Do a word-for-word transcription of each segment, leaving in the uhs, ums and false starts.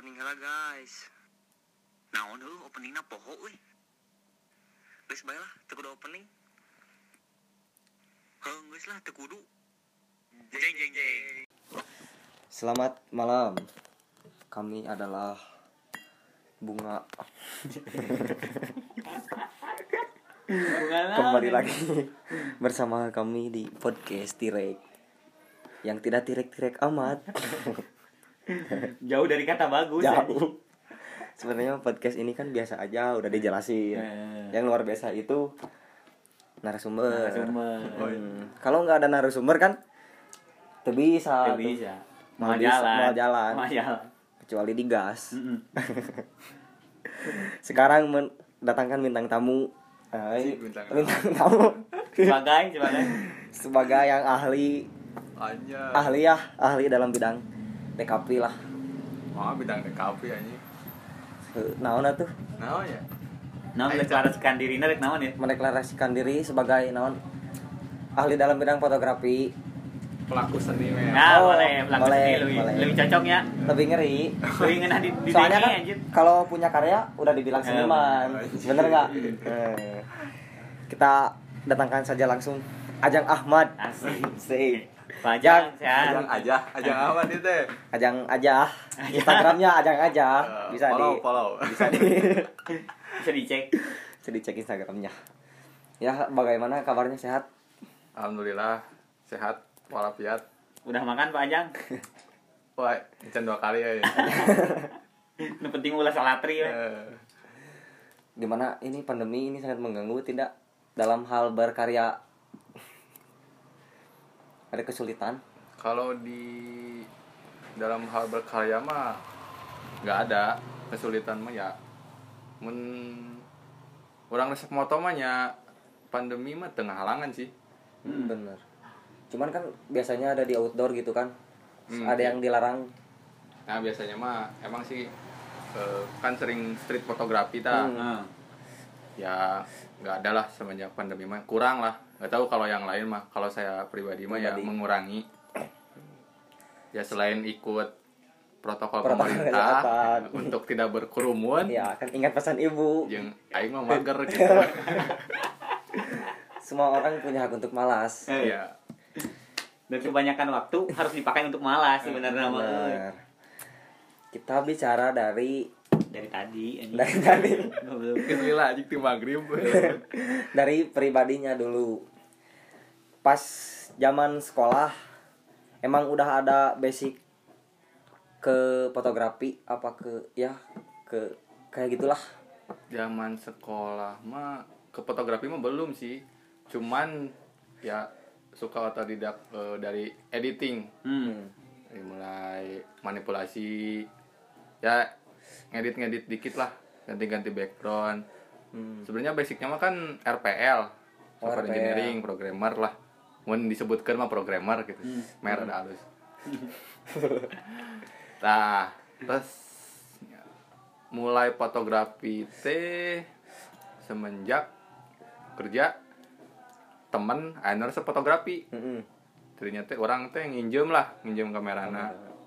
opening lah guys. Naon heuh openingna poho euy. Geus bae lah teu kudu opening. Heuh geus lah teu kudu. Jeng jeng jeng. Selamat malam. Kami adalah Bunga. Kembali lagi bersama kami di podcast Tirek yang tidak tirek-tirek amat. Jauh dari kata bagus. Jauh. Sebenarnya podcast ini kan biasa aja, udah dijelasin. Eh. Yang luar biasa itu narasumber. Narasumber. Hmm. Kalau nggak ada narasumber kan tuh bisa. Tidak bisa. Mau Mau bisa, jalan. mau jalan. Mau jalan. Kecuali digas. Mm-mm. Sekarang mendatangkan bintang tamu. Ay, Bintang bintang tamu Sebagai, sebagai. sebagai yang ahli Anya. ahli ya ahli dalam bidang D K P lah. Mah bidang D K P anjing. Naon atuh? Naon ya? Nah, mendeklarasikan diri rek naon ya? Mendeklarasikan diri sebagai naon? Ahli dalam bidang fotografi. Pelaku seni men. Nah, Oh, boleh, pelaku boleh, seni lebih, boleh. lebih cocok ya. Lebih ngeri. Lebih ngena di di Soalnya dengi, kan anjir. kalau punya karya udah dibilang seniman. Eh, Bener nggak? Eh, Kita datangkan saja langsung Ajang Ahmad. Asik. Sih. Pajang, Ajang sehat. aja, ajang apa nih teh? Ajang aja. Instagramnya Ajang aja. Bisa follow, di follow. bisa di Bisa dicek. bisa dicek Instagramnya. Ya, bagaimana kabarnya, sehat? Alhamdulillah sehat walafiat. Udah makan Pak Ajang? Wah, can dua kali ya. Yang penting ulah salatri ya. Eh, Dimana ini pandemi ini sangat mengganggu tidak dalam hal berkarya? Ada kesulitan? Kalau di dalam hal berkarya mah nggak ada kesulitan mah ya. Men orang resep moto mah nya pandemi mah tengah halangan sih. Hmm, bener. Cuman kan biasanya ada di outdoor gitu kan. Hmm, ada iya. yang dilarang. Nah biasanya mah emang sih eh, kan sering street fotografi ta. Hmm. Heeh. Ya nggak ada lah semenjak pandemi mah kurang lah. Nggak tahu kalau yang lain mah. Kalau saya pribadi mah ya Pribadi. mengurangi. Ya selain ikut protokol, Protokol pemerintah kesehatan. untuk tidak berkerumun. Ya, kan ingat pesan ibu. Yang aing mah mager gitu. Semua orang punya hak untuk malas. Eh. Ya. Dan kebanyakan waktu harus dipakai untuk malas sebenarnya mah. Bener. Kita bicara dari Dari tadi anjing. dari tadi Goblok. Kesila anjing ti magrib. dari pribadinya dulu. Pas zaman sekolah emang udah ada basic ke fotografi apa ke ya ke kayak gitulah. Zaman sekolah mah ke fotografi mah belum sih. Cuman ya suka otodidak eh, dari editing. Hmm. Dari mulai manipulasi ya ngedit-ngedit dikit lah, ganti-ganti background. Hmm. Sebenarnya basicnya mah kan R P L, Oh, software R P L. engineering, programmer lah. Mun disebutkan mah programmer gitu. Hmm. Mer ada halus. Nah, terus mulai fotografi teh semenjak kerja temen anu resep fotografi. Mm-mm. Tadinya teh orang teh nginjem lah, nginjem kamerana.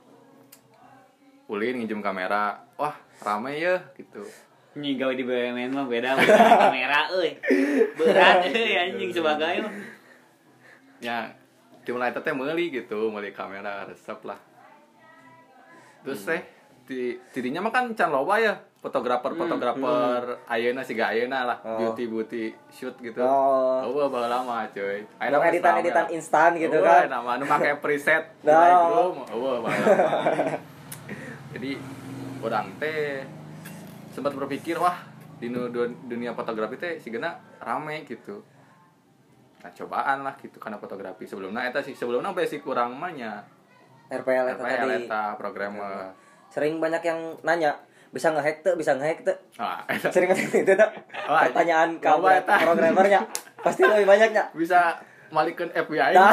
Ulin nginjem kamera. Wah, rame ya gitu. Nyi gawe di B U M N mah beda beda kamera euy. Berat euy anjing sebagai mah. Ya, dimulai teh meuli gitu, meuli kamera resep lah. Terus teh di tidinya mah kan can loba ya, fotografer-fotografer ayeuna siga ayeuna lah, Oh. beauty-beauty shoot gitu. Oh. Oh, baheula lama cuy. Yang editan-editan instan gitu oh, kan. Nama anu make preset di Oh. Lightroom. Oh, baheula lama. Jadi orang teh sempat berpikir wah di nu- du- dunia fotografi teh sigana rame gitu. Nah cobaan lah gitu karena fotografi sebelumnya eta sih sebelumnya basic kurang mah nya R P L R eta P L tadi. eta programmer. Sering banyak yang nanya, bisa ngehack tuh, bisa ngehack tuh. Ah, eta Sering nanya itu tuh. Oh, Pertanyaan iya. Loba kamu eta. programmernya pasti lebih banyaknya. bisa malikeun F B I. Nah.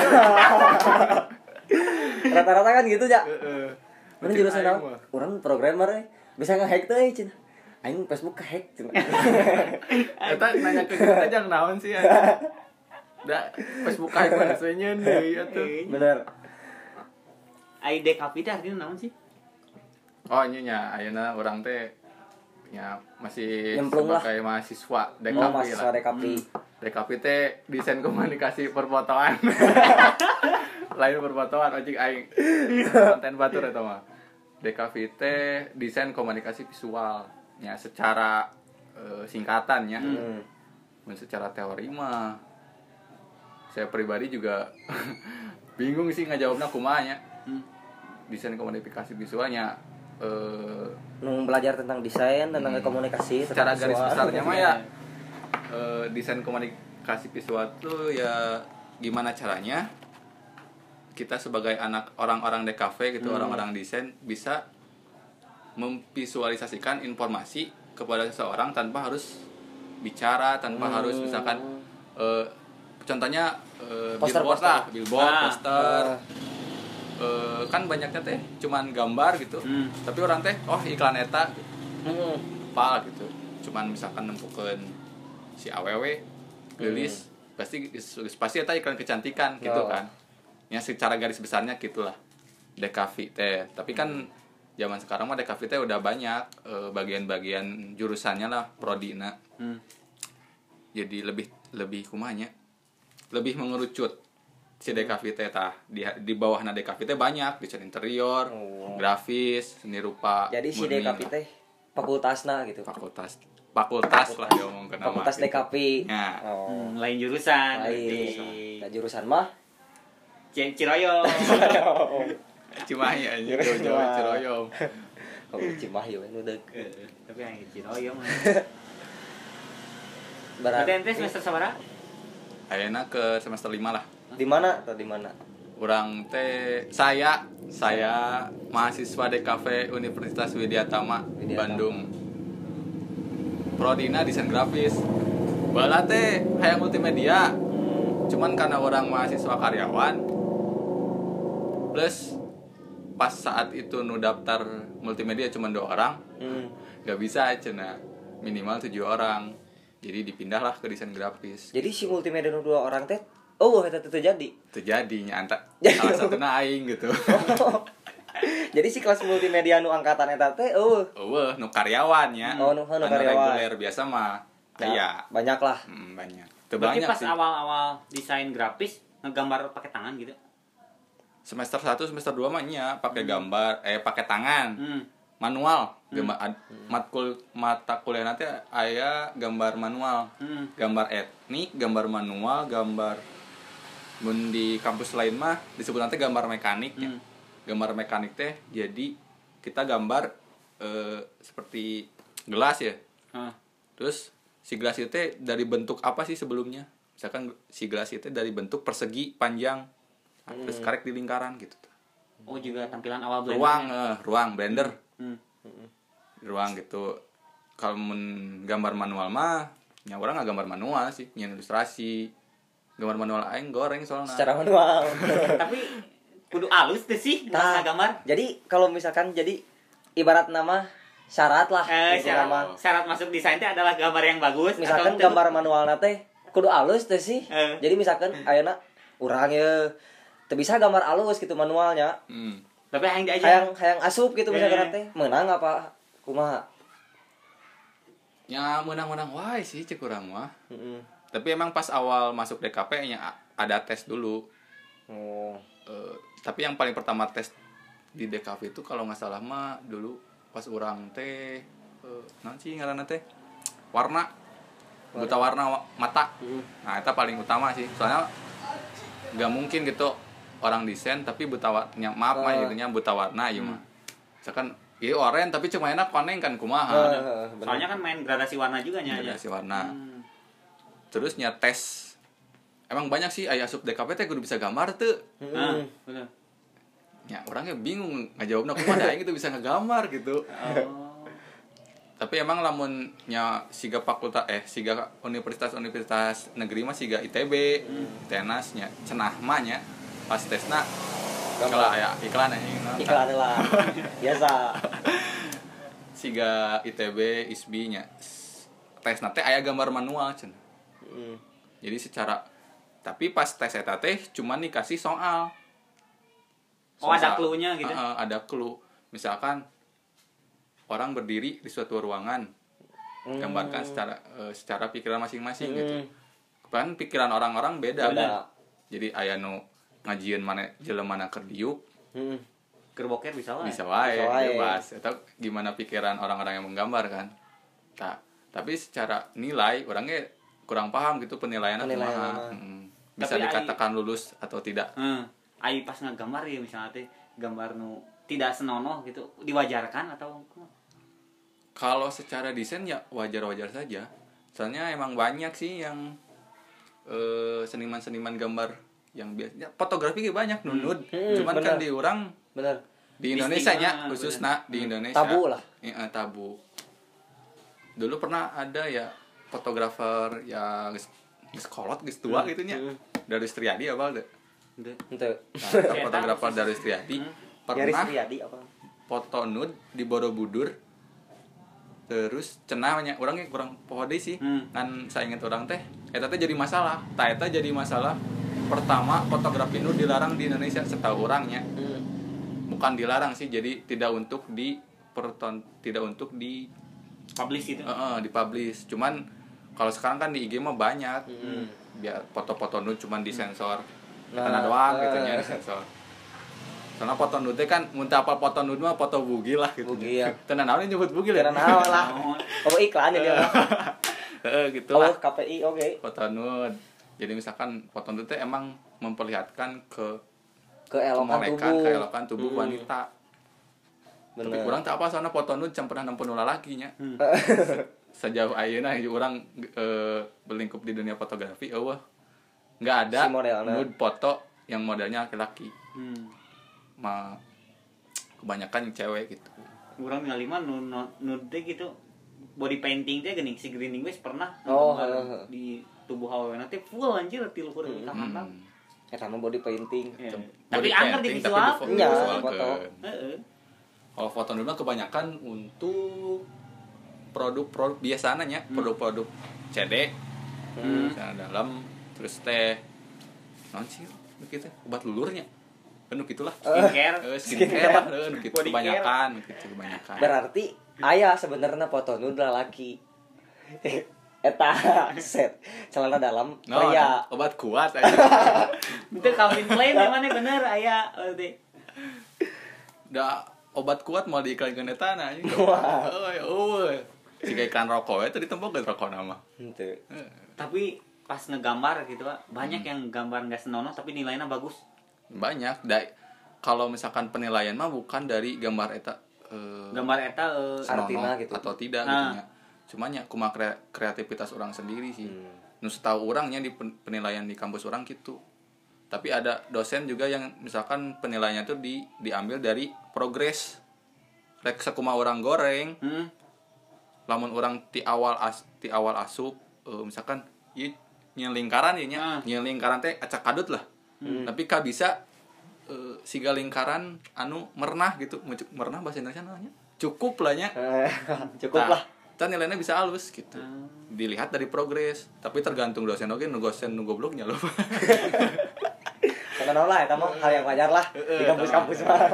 Rata-rata kan gitu ya. Heeh. Mana jurusan naon? Urang programmer eh. Bisa ngehack tuh eh cenah. Aing Facebook kehack cenah. Eta nanya ke kita jang naon sih atuh. Da Facebook aing mah seunyeun deui atuh. Bener. I D K P teh artinya naon sih? Oh ini nya ayeuna orang teh nya masih Nyemplung lah. sebagai mahasiswa D K P Oh, lah. mahasiswa D K P. Hmm. D K P teh desain komunikasi perfotoan. Lain perfotoan ojek aing. Konten batur eta mah. D K V teh desain komunikasi visual. Ya secara uh, singkatannya. Hmm. Hmm. Secara teori mah saya pribadi juga bingung sih ngajawabna kumaha nya. Hmm. Desain komunikasi visualnya eh Nung belajar tentang desain, tentang Hmm. komunikasi, secara tentang garis visual. besarnya mah ya eh, desain komunikasi visual tuh ya gimana caranya kita sebagai anak orang-orang D K V gitu, Hmm. orang-orang desain bisa memvisualisasikan informasi kepada seseorang tanpa harus bicara, tanpa Hmm. harus misalkan eh, contohnya eh, Poster, billboard poster. lah, billboard, Ah. poster. Ah. Eh, kan banyaknya teh cuman gambar gitu. Hmm. Tapi orang teh oh iklan eta Hmm. apa gitu, cuman misalkan nempukeun si awewe gelis pasti pasti eta iklan kecantikan gitu Oh. kan ya, secara garis besarnya gitulah D K V teh. Tapi kan zaman sekarang mah D K V teh udah banyak eh, bagian-bagian jurusannya lah, prodina. Hmm. Jadi lebih lebih kumanya lebih mengerucut si D K V teh tah di di bawahna D K V teh banyak desain interior, Oh. grafis, seni rupa. Jadi si murni D K P lah. teh fakultasna gitu. fakultas fakultas lah diomongkeun nama Fakultas D K P. Ya. Oh. Hmm, lain jurusan. Lain. Di Nah, jurusan mah C- Ciroyom. Cimahi aja jauh-jauh Ciroyom. Oh, Cimahi we nu deuk. Eh, Tapi yang Ciroyom. Berarti Berarti ente semester sabaraha? Ayeuna ke semester lima lah. di mana atau di mana? Urang teh saya saya mahasiswa D K V Universitas Widyatama Widyatama. Bandung. Prodina desain grafis. Bala teh hayang multimedia. Cuman karena orang mahasiswa karyawan plus pas saat itu nu daftar multimedia cuma dua orang, Hmm. nggak bisa cenah, minimal tujuh orang. Jadi dipindahlah ke desain grafis. Jadi si multimedia nu dua orang teh oh eta teh jadi. Terjadinya anta Jadi. salah satu aing gitu. Jadi si kelas multimedia nu angkatan eta teh oh Eueuh, nu karyawan ya. Oh, nu- nu Anu karyawan. reguler biasa mah. Aya. banyak lah. Hmm, banyak. Teu Berarti banyak pas sih. awal-awal desain grafis ngegambar pakai tangan gitu. Semester satu, semester dua mah nya pakai gambar, eh pakai tangan. Hmm. Manual. Gambar ad- matkul mata kuliah nanti aya gambar manual. Hmm. Gambar etnik, gambar manual, gambar mun di kampus lain mah disebut nanti gambar mekanik ya. Hmm. Gambar mekanik teh jadi kita gambar eh, seperti gelas ya. Ah. Terus si gelas itu teh dari bentuk apa sih sebelumnya? Misalkan si gelas itu dari bentuk persegi panjang. Nah, terus karek di lingkaran gitu. Oh juga tampilan awal blender. Ruang eh, ruang blender. Hmm. Ruang gitu. Kalau mun gambar manual mah nya orang nggak gambar manual sih, nyen ilustrasi. Gambar manual aing goreng soalnya. Secara manual. Tapi kudu alus tuh sih Nah, nah, gambar. Jadi kalau misalkan jadi ibarat nama syarat lah. Eh, gitu syarat, nama. syarat masuk desain teh adalah gambar yang bagus. Misalkan atau gambar manualna teh kudu alus teh sih. Eh. Jadi misalkan ayeuna urang ye teu bisa gambar alus gitu manualnya. Hmm. tapi yang aja. Hayang hayang asup gitu misalkan Eh. teh. Menang apa kumaha? Ya menang-menang wae sih cek urang mah. Heeh. Tapi emang pas awal masuk D K P nya a- ada tes dulu. Oh. Eh, tapi yang paling pertama tes di D K V itu kalau nggak salah mah dulu pas orang teh uh, naon sih ngaranna teh warna buta warna wa- mata. Nah itu paling utama sih soalnya nggak mungkin gitu orang desain tapi buta warna maaf mah Oh. itunya buta warna ya mah. Misalkan iya oranye tapi cuma enak koneng kan kumaha. Heeh, bener. Soalnya kan main gradasi warna juga nya. Ada si warna. Hmm. Terus nya tes emang banyak sih aya sub D K P teh kudu bisa gambar tuh. Ah, Heeh. betul. Ya orangnya bingung ngajawabna kumaha aing gitu bisa ngegambar gitu. Oh. Tapi emang lamun nya siga fakultas eh siga universitas-universitas negeri mah siga I T B, I T N A S nya cenah mah nya pas tesna kalau aya iklan ya Iklan lah. Biasa. siga I T B, I S B nya tesna teh aya gambar manual cenah. Heeh. Jadi secara tapi pas tes eta teh cuman dikasih soal. Oh, ada Soal. clue-nya gitu? Heeh, ada clue. Misalkan orang berdiri di suatu ruangan, gambarkan secara uh, secara pikiran masing-masing Hmm. gitu. Kan pikiran orang-orang beda. Beda. Jadi aya nu ngajieun mana jelema mana keur diuk, Hmm. Kerboker bisa wae. bisa wae Bisa wae. bebas. Atau gimana pikiran orang-orang yang menggambar kan. Nah, tapi secara nilai orangnya kurang paham gitu penilaiannya Penilaian kumaha. mana. Hmm. Bisa Tapi dikatakan lulus atau tidak. Heeh. Ai pas ngagambar ya misalnya teh gambar nu tidak senonoh gitu diwajarkan atau Kalau secara desain ya wajar-wajar saja. Soalnya emang banyak sih yang eh, seniman-seniman gambar yang biasanya fotografi ge banyak nunud. Hmm, Cuman bener. kan di orang Bener. di Indonesia nya Distinct, khususnya di Indonesia. Tabu lah. Iya, tabu. Dulu pernah ada ya fotografer yang geus geus kolot geus tua gitu nya. Hmm. Dari Triadi apa deh. Henteu. Ente. Nah, fotografer dari Triadi Garis pernah Riyadi apa? foto nude di Borobudur. Terus cenahnya orangnya kurang poho deui sih. Hmm. Kan saya ingat orang teh eta teh jadi masalah. Tah eta jadi masalah pertama fotografi nude dilarang di Indonesia setahu orangnya. Hmm. Bukan dilarang sih, jadi tidak untuk di perton tidak untuk di Publish itu. uh, dipublish. Cuman kalau sekarang kan di I G mah banyak. Hmm. Biar foto-foto nude cuman disensor. Nah, Karena doang gitu eh. nya disensor. Soalnya foto nude teh kan muntah apa foto nude mah foto bugil lah gitu. Bugil, ya. Tenan naon nyebut bugil ya? Karena naon lah. Oh iklan ya dia. Heeh gitu Oh lah. K P I oke. Foto nude. Jadi misalkan foto nude teh emang memperlihatkan ke Keelokan kemolekan, tubuh. keelokan tubuh Hmm. wanita. Tapi Bener. kurang tak apa soalnya foto nude can pernah nempuh nu lalakinya. Hmm. Sejauh ayeuna orang e, berlingkup di dunia fotografi, eueuh. Enggak ada Si modelna. nude foto yang modelnya laki-laki. Hmm. Ma kebanyakan yang cewek gitu. Urang ningali mah nu nu- nude teh gitu body painting teh geuning si greening wes pernah Oh, gambar heeh. di tubuh aweuna teh full anjir ti luhur Hmm. ka handap. Eta mah body painting. Ya. Body Tapi angker di painting, tapi visual. di Iya, visualkeun. foto. Heeh. Kalau foto nude mah kebanyakan untuk produk-produk biasanya, produk-produk C D, Hmm. misalnya dalam, terus teh, non sih, begitu, obat lulurnya, penuh gitulah, Skincare. Eh, skincare lah, eh, nu gitu Body kebanyakan, gitu kebanyakan. Berarti aya sebenarnya foto nude laki. Eta set celana dalam No, pria. obat kuat aja. Itu Calvin Klein mana bener aya berarti. Da obat kuat mau diiklankeun eta na anjing. Wah. Euy, euy. Siga iklan rokok itu ditembok ke rokok nama. Henteu. Tapi pas ngegambar gitu Pak, banyak yang gambar nggak senonoh tapi nilainya bagus. Banyak. Da kalau misalkan penilaian mah bukan dari gambar eta eh, Gambar eta eh, senonoh Artina gitu. atau tidak Nah. gitu nya. Cuman ya kumaha kre- kreativitas orang sendiri sih. Hmm. Nu setahu orangnya di pen- penilaian di kampus orang gitu. Tapi ada dosen juga yang misalkan penilaiannya tuh di diambil dari progres. Rek sakumaha orang goreng, hmm, lamun orang ti awal as ti awal asup eh, misalkan ieu nyeun lingkaran ieu nya, Ah. nyeun lingkaran teh acak kadut lah. Tapi ka bisa eh, siga lingkaran anu merenah gitu, Mucuk- merenah bahasa Indonesia namanya. Cukup lah nya. Eh, Cukup lah. Tah nilainya bisa halus gitu. Ah. Dilihat dari progres, tapi tergantung dosen oge nu dosen nu gobloknya loh. Karena lah eta mah hal yang wajar lah di kampus-kampus mah.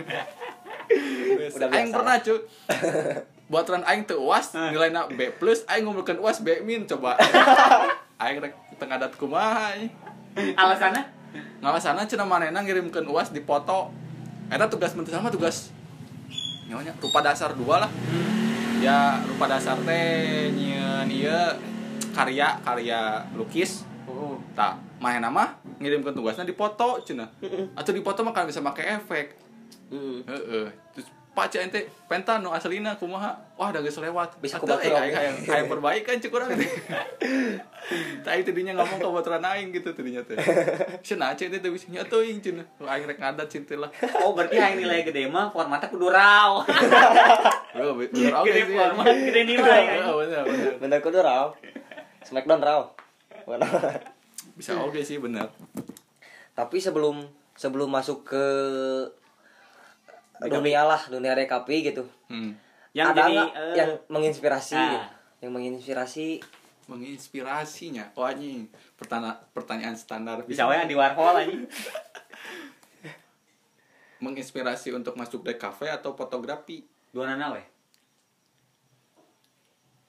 Udah Aing biasa pernah cu buat ran aing teu U A S nilainya B plus, aing ngomongkeun U A S B min coba. Aing rek tengah dat kumaha anjing. alasannya Ngalasana cenah manehna ngirimkeun U A S dipoto. Eta tugas menteri sama tugas nyonya rupa dasar dua lah. Ya rupa dasar teh nyieun ieu karya karya lukis. Heeh. Tah, manehna mah ngirimkeun tugasna dipoto cenah. Atuh dipoto mah kan bisa make efek. Heeh. Heeh. Terus paca ente penta nu aslina kumaha? Wah, da geus lewat. Bisa Atuh, kubatur eh, oge. aing hayang hayang perbaikan cek urang teh. Tah itu dinya ngomong ka baturan aing gitu teh dinya teh. Cenah aja teh teu bisa nya teuing cenah. Aing rek ngadat cinta lah. oh berarti yang nilai gede mah formatnya kudu raw. Oh, bener oke Gede sih. format, gede nilai. Heeh, bener bener. Bener kudu raw. Smackdown raw. Bener. Bisa oke sih bener. Tapi sebelum sebelum masuk ke dunia lah, dunia rekapi gitu. Hmm. Yang ada jadi nggak eh, yang menginspirasi ah. gitu? Yang menginspirasi Menginspirasinya. Oh anjing. Pertanyaan pertanyaan standar bisa wae di Warhol anjing. menginspirasi untuk masuk di kafe atau fotografi. Dua nana we.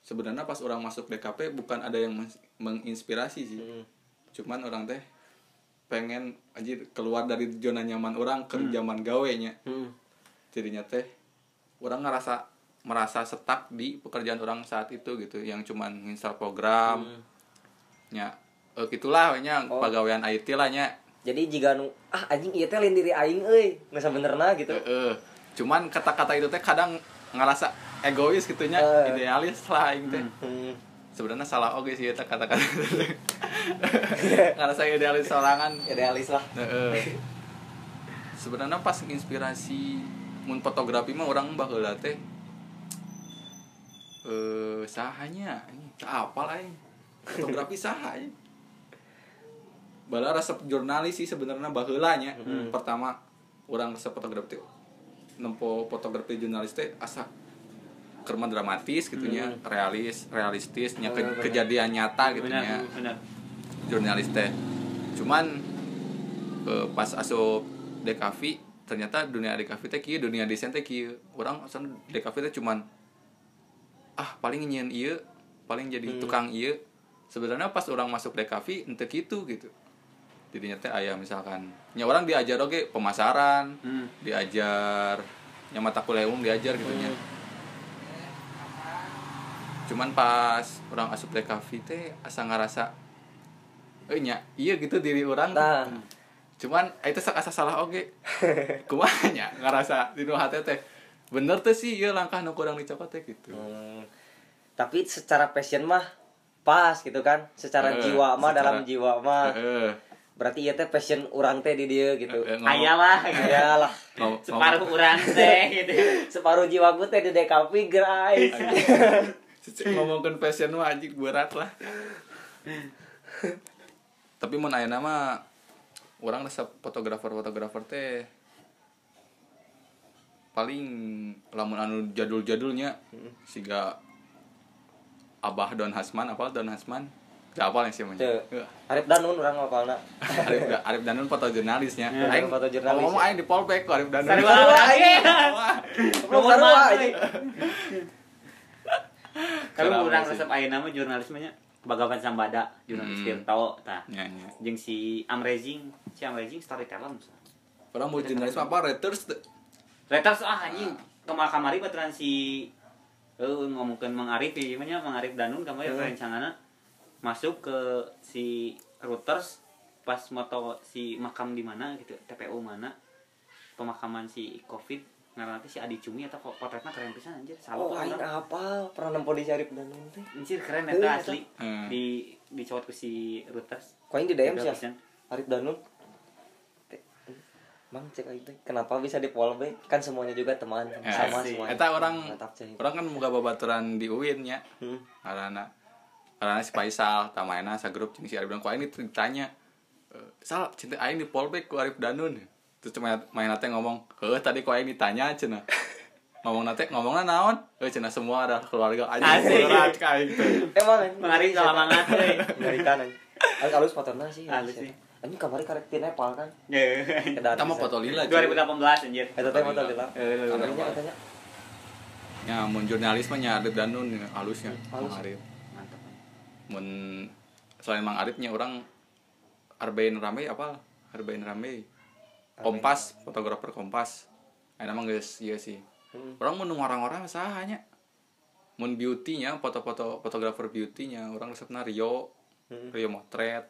sebenarnya pas orang masuk D K P bukan ada yang menginspirasi sih. Hmm. Cuman orang teh pengen anjir keluar dari zona nyaman orang ke zaman gawe nya. Hmm. Jadinya teh orang ngerasa merasa stuck di pekerjaan orang saat itu gitu, yang cuman install program. Hmm. Nya eh, gitulah nya Oh. pegawaian I T lah nya. Jadi jika nu ah anjing ieu teh lain diri aing euy, geus sabenerna gitu. Heeh. Cuman kata-kata itu teh kadang ngerasa egois gitunya, Uh. idealis lah aing teh. Hmm. Sebenarnya salah oge sih eta kata-kata. Ngerasa idealis sorangan. Idealis lah. Heeh. Sebenarnya pas inspirasi mun fotografi mah orang baheula teh eh sahanya ini apal aing. Fotografi saha aing. Bala resep jurnalis sih sebenarnya baheula nya. Hmm. Pertama orang resep fotografi teh nempo fotografi jurnalis teh asa kerma dramatis gitunya, Hmm. realis, realistis, nya Oh, ke- benar. kejadian nyata gitu benar nya. benar Jurnalis teh. Cuman eh, pas asup D K V ternyata dunia D K V teh kieu, dunia desain teh kieu. Urang asa D K V teh cuman ah paling nyieun ieu, paling jadi Hmm. tukang ieu. Sebenarnya pas orang masuk D K V ente kitu gitu. Jadinya teh aya misalkan nya orang diajar oge pemasaran, hmm. diajar nya mata kuliah umum diajar gitu nya. Cuman pas orang asup D K V teh asa ngarasa eh nya iya gitu diri orang. Nah. Cuman itu asa salah oge. Kumaha nya ngarasa di nu hate teh bener teh sih ieu langkah nu kurang dicokot teh gitu. Hmm. Tapi secara passion mah pas gitu kan. Secara Heeh, jiwa mah secara- dalam jiwa mah. Heeh. Berarti ieu teh passion urang teh di dieu gitu. Heeh, ngomong- aya lah gitu. Ayalah. ngomong- Separuh urang teh gitu Separuh jiwaku teh di D K P guys. ngomongkeun passion mah anjing berat lah. Tapi mun ayeuna mah urang resep fotografer-fotografer teh paling lamun anu jadul-jadulnya siga Abah Don Hasman, apa Don Hasman? Gak apal yang sih mah. Teu. Arif Danun urang ngapalna. Arif Arif Danun fotojurnalisnya. Ya, Aing fotojurnalis, ngomong ya. aing di Polpek ku Arif Danun. Sarua Sarua, aing. Wah. Belum sarua anjing. Kalau Sarua urang sih. resep ayeuna mah jurnalismenya Bagawan Sambada, jurnalis Hmm. Tirto tah. Nya nya. Jeung si Amrezing, si Amrezing storyteller misalnya. Orang mau jurnalis apa Reuters teh. Reuters ah anjing kemar kamari baturan si eh ngomongkeun Mang Arif ieu mah nya Mang Arif Danun kamari Hmm. rencana masuk ke si Reuters pas moto si makam di mana gitu, T P U mana pemakaman si Covid ngaranna teh si Adi Cumi eta potretna keren pisan anjir. Salut Oh, lah aing urang. apa pernah nempo di Arif Danun teh. Anjir keren Heuh, eta eta. asli. Hmm. Di dicowot ku si Reuters. Ku aing di D M Tiga sih. pisan. Arif Danun. Teh, Mang cek aing teh kenapa bisa di Polbek? Kan semuanya juga teman Ya, sama sih. semuanya. Eta orang Mantap cek. orang kan boga babaturan di U I N nya. Hmm. Karena karena si Faisal tamaina sa grup jeung si Arif Danun ku aing ditanya e, Sal cinta aing di Polbek ku Arif Danun. Terus cuma main teh ngomong, "Heuh tadi ku aing ditanya cenah." Ngomong nate ngomongna naon? Heuh cenah semua adalah keluarga aja Asik. berat kayak gitu. Emang anjing. Mang Arif salamangat euy. Ngerikan anjing. Alus alus fotorna sih. Alus sih. Anjing kamari karek ti Nepal kan. Ye. Edan Kita mau bisa. foto lila. dua ribu delapan belas anjir. Eta teh foto lila. Eh, Kamarinya katanya Ya mun jurnalis mah nya Arif Danun ya, halusnya Halus. Mang Arif. mantap. Mun selain Mang Arifnya orang Arbein Rame apa? Arbein Rame. Kompas, fotografer Kompas. Ayeuna mah geus ieu sih. Hmm. Orang mun orang-orang sahanya. Mun beauty-nya, foto-foto fotografer beauty-nya, orang resepna Rio. Hmm. Rio Motret.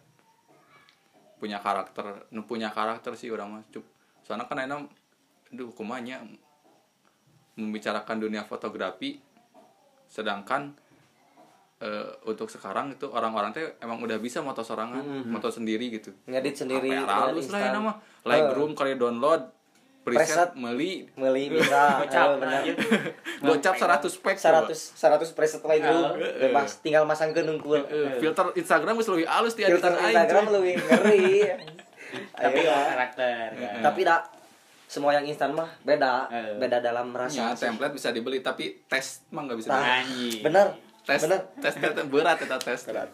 Punya karakter, nu punya karakter sih orang mah. Cuk. Soalnya kan ayeuna aduh kumaha nya membicarakan dunia fotografi sedangkan eh, untuk sekarang itu orang-orang teh emang udah bisa moto sorangan, Hmm. moto sendiri gitu. ngedit sendiri H P dengan halus lah ya instan. nama. Lightroom kali download, Preset. preset meuli, Meuli bisa. Gocap Heuh, bener. anjir. gocap seratus spek. seratus seratus preset Lightroom. Heeh. Bebas tinggal masangkeun unggul. Eh, filter Instagram geus leuwih halus ti Filter editan aing. Instagram cuy. lebih ngeri. Tapi Ayo, oh, karakter kan. tapi dak semua yang instan mah beda, Eh. beda dalam Ya, rasa. template bisa dibeli tapi tes mah enggak bisa Tah. dibeli. Anjir. Bener, Tes bener. tes tes berat eta tes. Berat.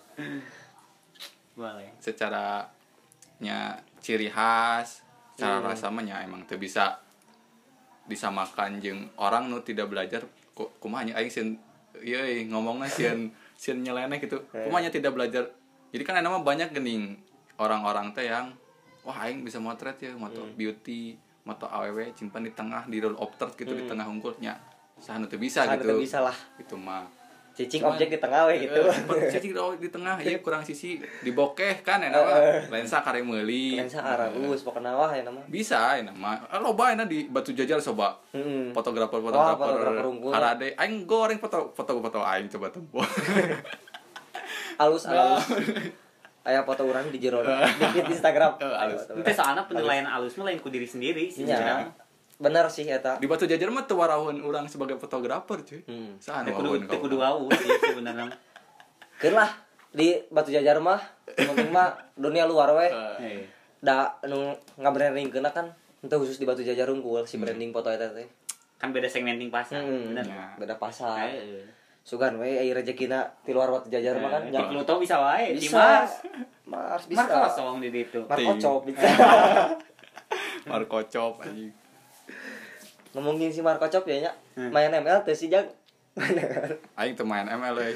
Boleh. Secara nya ciri khas, cara Hmm. rasa mah nya emang teu bisa disamakan jeung orang nu tidak belajar ku- kumaha nya aing sin iya ngomongnya sieun sieun nyeleneh gitu kumanya tidak belajar jadi kan nama banyak gening orang-orang teh yang wah aing bisa motret ya moto hmm. beauty moto aww simpan di tengah di roll of third gitu hmm. di tengah unggulnya sahan teu bisa Sahan gitu teu bisa lah itu mah cicing objek di tengah we gitu uh, cicing di tengah ieu kurang sisi dibokeh kan ya nama lensa kare meuli lensa aragus pokona wah ya nama bisa ya nama loba enak di Batu Jajar coba heeh fotografer fotografer fotografer harade aing goreng foto foto foto aing coba tempo alus alus aya foto urang di jero di Instagram alus teh soalna penilaian alus mah lain ku diri sendiri sih nya bener sih eta di Batu Jajar mah teu warahun urang sebagai fotografer cuy hmm. sahan kudu kudu wau sih sebenarnya keun lah di Batu Jajar mah penting mah dunia luar we Heeh. da anu ngabrandingkeun kan henteu khusus di Batu Jajar unggul si branding foto eta teh kan beda segmenting pasar hmm. bener Ya. beda pasar Heeh. sugan we aya rezekina ti luar Batu Jajar mah kan Di Pluto bisa wae di bisa Mars Mars bisa Mars kosong di ditu Marco Cop bisa Marco Cop anjing ngomongin si Marco Cop ya nya Hmm. main M L teh si Jag aing teu main M L euy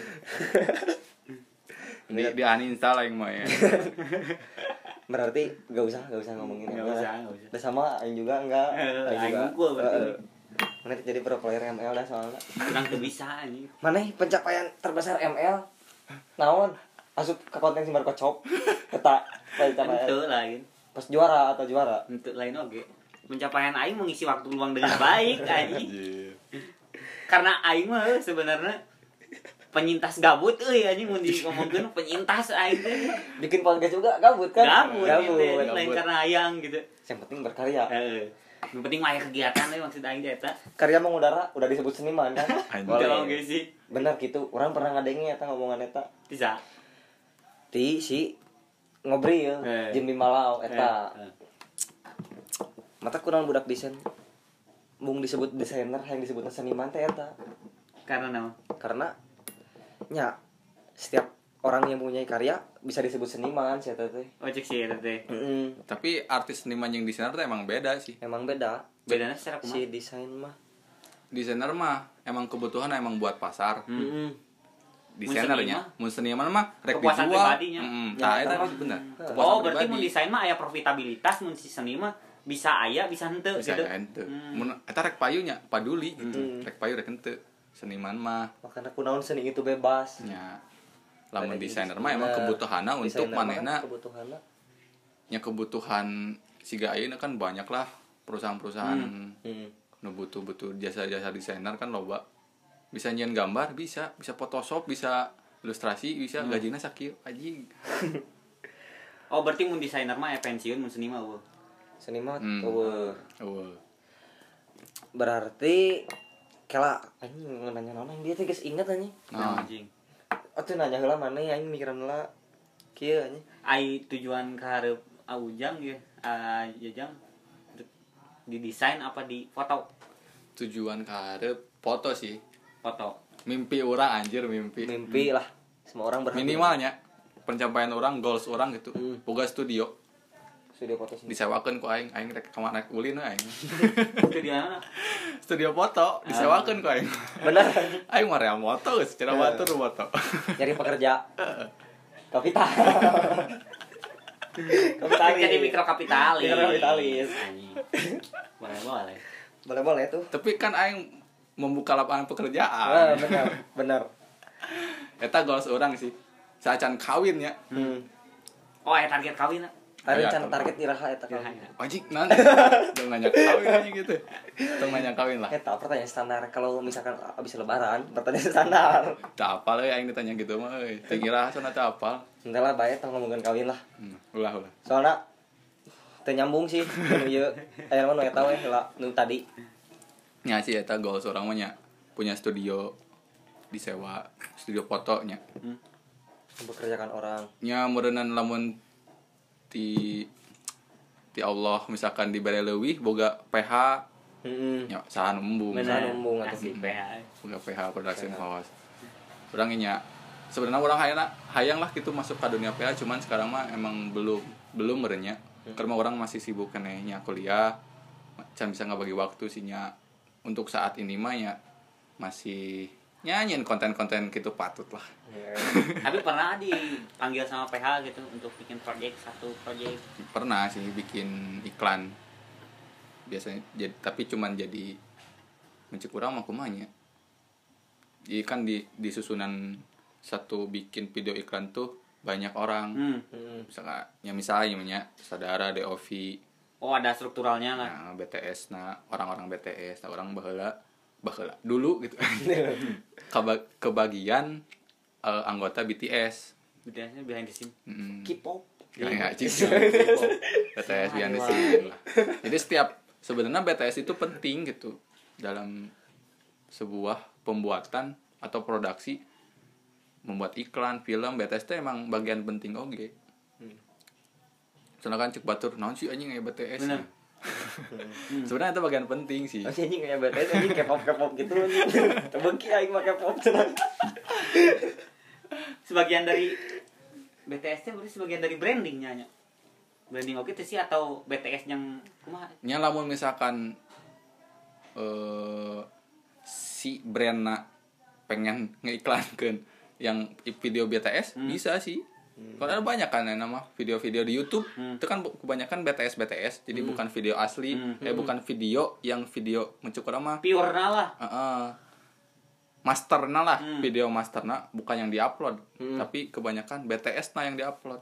di di uninstall aing mah ya berarti gak usah gak usah ngomongin Nggak M L usah, lah. nggak usah. Udah sama aing juga enggak Eh, Aing aing juga. unggul berarti. Eh, eh. Mana jadi pro player M L dah soalnya kurang teu bisa anjing mana pencapaian terbesar M L naon asup ke konten si Marco Cop eta pencapaian henteu lain pas juara atau juara henteu lain oge pencapaian aing mengisi waktu luang dengan baik anjing karena aing mah sebenarnya penyintas gabut euy anjing mun ngomongkeun penyintas aing teh bikin podcast juga gabut kan gabut, gabut. gitu lain karena hayang gitu yang penting berkarya heeh yang penting mah aya kegiatan we maksud aing teh eta karya mengudara udah disebut seniman kan Anjing. kalau ge sih benar gitu orang pernah ngadengin eta ngomongan eta bisa di si ngobrol Eh. Jimmy Malau eta Eh, eh. mata kurang budak desain mung disebut desainer yang disebutna seniman teh eta karena naon karena nya setiap orang yang punya karya bisa disebut seniman sih eta teh ojek sih eta teh heeh tapi artis seniman yang desainer tuh emang beda sih emang beda bedana secara kumaha si desain mah desainer mah emang kebutuhan emang buat pasar heeh desainernya mun seniman mah rek Kepuasan dijual pribadinya. heeh Ya, tah eta eta mah. bener Oh, oh berarti mun desain mah aya profitabilitas mun si seni mah bisa aya bisa henteu bisa gitu henteu Hmm. mun eta rek payunya paduli gitu Hmm. rek payu rek henteu seniman mah makanya kunaon seni itu bebas nya lamun Beda desainer gitu. mah emang Nah, kebutuhanna untuk desainer mah kan manehna kebutuhanna nya kebutuhan siga ayeuna kan banyak lah perusahaan-perusahaan heeh nu butuh-butuh jasa-jasa desainer kan loba bisa nyian gambar bisa bisa Photoshop bisa ilustrasi bisa gajinya sakieu anjing oh berarti mun desainer mah aya pensiun mun seni mah eueuh seniman Hmm. eueuh eueuh berarti kela anjing nanya naon dia teh geus inget anjing nah anjing atuh nanya heula maneh aing mikiran heula kieu anjing ai tujuan ka hareup Aujang ya ah Jajang didesain apa di foto tujuan kaharep foto sih foto mimpi orang anjir mimpi mimpi lah semua orang berharap minimalnya pencapaian orang goals orang gitu Hmm. boga studio studio foto sendiri disewakeun ku aing aing rek kemana ulin we aing itu di mana studio foto disewakeun ku aing bener aing mah real moto geus cenah batur moto nyari pekerja kapital kapitalis jadi mikrokapitalis mikrokapitalis Anjing. boleh boleh boleh boleh tuh tapi kan aing membuka lapangan ah, pekerjaan benar benar eta goals orang sih saacan kawin ya hmm. oh ya target kawin lah ada Iya, rencana tuh. target iraha eta kan wajib nanti jangan nanya kawin aja gitu jangan nanya kawin lah eta pertanyaan standar kalau misalkan abis lebaran pertanyaan standar tak apa lah yang ditanya gitu mah euy teu ngira sana teu apal entar lah bae tong ngomongin kawin lah hmm, ulah ulah soalnya teu nyambung sih nu ieu aya mah nu eta we heula nu tadi nya sih eta goals orang mah nya punya studio disewa studio fotonya mempekerjakan orang nya meureunnan lamun ti ti Allah misalkan dibere leuwih boga P H heeh nya saha embung Bener. Numbung atuh. asli P H boga P H production house urang nya sebenarnya orang hayang hayang lah gitu masuk ke dunia P H cuman sekarang mah emang belum belum merenya karena orang masih sibuk kenehnya kuliah can bisa nggak bagi waktu sih nya untuk saat ini mah ya masih nyanyiin konten-konten gitu patut lah. Tapi pernah dipanggil sama P H gitu untuk bikin project satu project. Pernah sih bikin iklan biasanya jadi, tapi cuman jadi mencek kurang mah kumanya. Jadi kan di di susunan satu bikin video iklan tuh banyak orang. Hmm. Misalnya ya misalnya namanya saudara D O V. Oh, ada strukturalnya lah. Nah, B T S nah orang-orang B T S, nah orang baheula baheula dulu gitu. Keba- kebagian uh, anggota B T S. Biasanya behind the scene. Mm. K-pop. Kayak cik. B T S behind the scene lah. Jadi setiap sebenarnya B T S itu penting gitu dalam sebuah pembuatan atau produksi, membuat iklan, film. B T S itu emang bagian penting oge. Hmm. Soalnya kan cek batur naon sih anjing kayak B T S. Bener. Hmm. Sebenarnya itu bagian penting sih. Masih anjing kayak B T S anjing K-pop K-pop gitu anjing. Tebengki aing mah K-pop. Sebagian dari B T S-nya berarti sebagian dari brandingnya nya. Branding oke itu sih atau B T S yang kumaha? Nya lamun misalkan eh si brandna pengen ngeiklankeun yang video B T S hmm. bisa sih. Hmm. Karena banyak kan yang nama video-video di YouTube hmm. itu kan kebanyakan B T S B T S jadi hmm. bukan video asli hmm. eh bukan video yang video mencukur mah pure lah. Heeh. Masterna lah, hmm. video masterna bukan yang diupload, hmm. tapi kebanyakan B T S na yang diupload.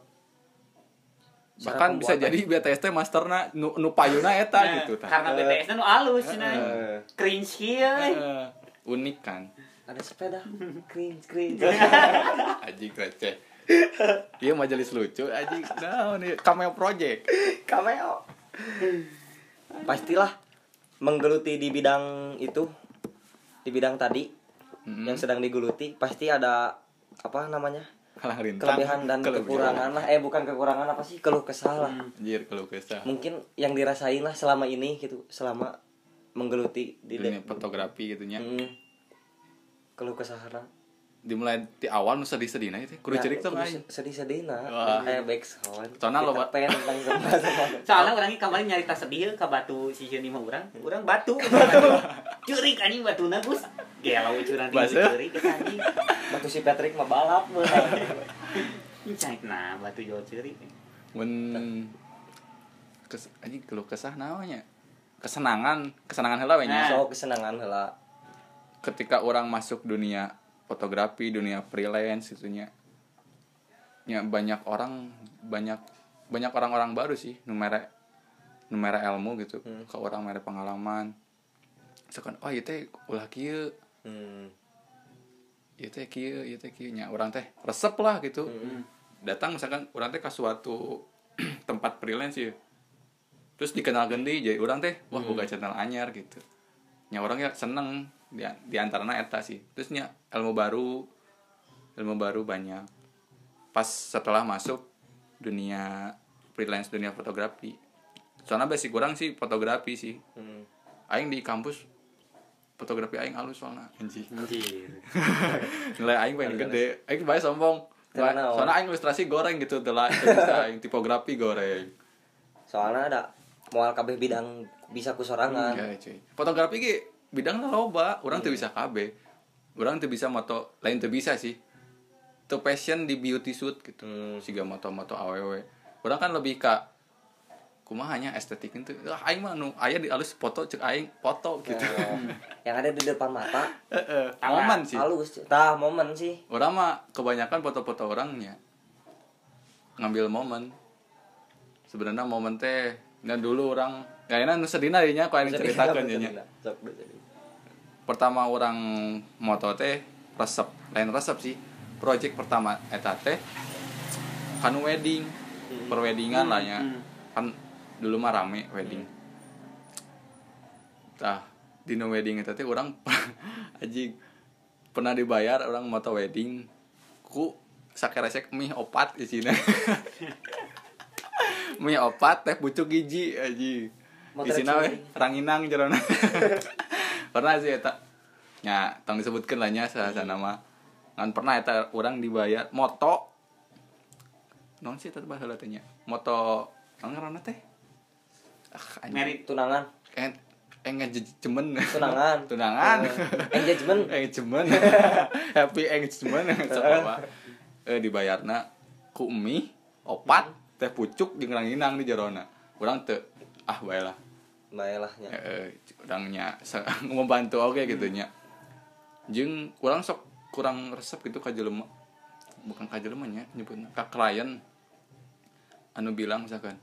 Bahkan bisa jadi B T S teh masterna nu, nu payuna eta nah, gitu tah. Karena B T S-na nu alus uh, nah. Uh, cringe kieu. Uh, unik kan. Ada sepeda cringe cringe. Anjing receh. Iya majelis lucu anjing. Nah, ini cameo project. Cameo. Pastilah menggeluti di bidang itu. Di bidang tadi mm-hmm. yang sedang digeluti pasti ada apa namanya? Kelebihan dan kelebihan. Kekurangan lah. Eh bukan kekurangan apa sih? Keluh kesah lah. Anjir, keluh kesah. Mungkin yang dirasain lah selama ini gitu, selama menggeluti di dunia fotografi gitu nya. Mm. Keluh kesahana. Dimulai di awal nu sedih-sedihna itu kudu cerik tuh aing. Sedih-sedihna kayak back sound. Soalnya lo pengen tentang semua. Soalnya urang kemarin nyarita sedih ka batu si Juni mah urang. Urang batu. Ceurik anjing batuna Gus. Gelau curang di ceurik anjing. Batu si Patrick mah balap mah. Cait nah batu jual ceurik. Mun kes anjing keluh kesah naonnya? Kesenangan, kesenangan heula we nya. So kesenangan heula. Ketika orang masuk dunia fotografi, dunia freelance itunya ya banyak orang banyak banyak orang-orang baru sih nu mere nu mere ilmu gitu hmm. ke orang mere pengalaman sekan oh ieu teh ulah kieu hmm. ieu teh kieu ieu teh kieu nya urang teh resep lah gitu hmm. datang misalkan urang teh ka suatu tempat freelance ya terus dikenal gendi jadi urang teh wah boga hmm. channel anyar gitu nya orang ya seneng di, di antaranya eta sih terusnya ilmu baru ilmu baru banyak pas setelah masuk dunia freelance dunia fotografi soalnya basic kurang sih fotografi sih hmm. aing di kampus fotografi aing halus soalnya anjir nilai aing paling gede aing bae sombong soalnya aing ilustrasi goreng gitu telah bisa aing tipografi goreng soalnya ada moal kabeh bidang bisa kusorangan hmm, ya, cuy. Fotografi ge bidangnya loba orang tuh hmm. bisa K B orang tuh bisa moto lain tuh bisa sih tuh passion di beauty shoot gitu hmm. siga moto-moto awewe orang kan lebih ke kumahanya estetik itu ah aing mah nu aya di alus foto cek aing foto gitu oh. yang ada di depan mata momen sih halus tah momen sih orang mah kebanyakan foto-foto orangnya ngambil momen sebenarnya momen teh dan dulu orang kayaknya nu sedihna dinya kok yang ceritakeun nya pertama orang moto teh resep lain resep sih project pertama eta teh kan wedding hmm. perweddingan hmm. lah nya hmm. kan dulu mah rame wedding tah dino wedding eta teh orang anjing pernah dibayar orang moto wedding ku sakeresek mie opat isina mie opat teh pucuk hiji anjing isina we ranginang jerona pernah sih eta nya tong disebutkeun lah nya saha nama ngan pernah eta urang dibayar moto naon sih eta baheula teh nya moto ngaranna teh ah merit tunangan eh engagement tunangan tunangan engagement engagement happy engagement coba eh dibayarna ku mie opat teh pucuk jeung ranginang di jerona urang teu ah bae lah bae lah nya heeh urang nya membantu oge gitu nya jeung urang sok kurang resep gitu ka jelema bukan ka jelema nya nyebutna ka klien anu bilang misalkan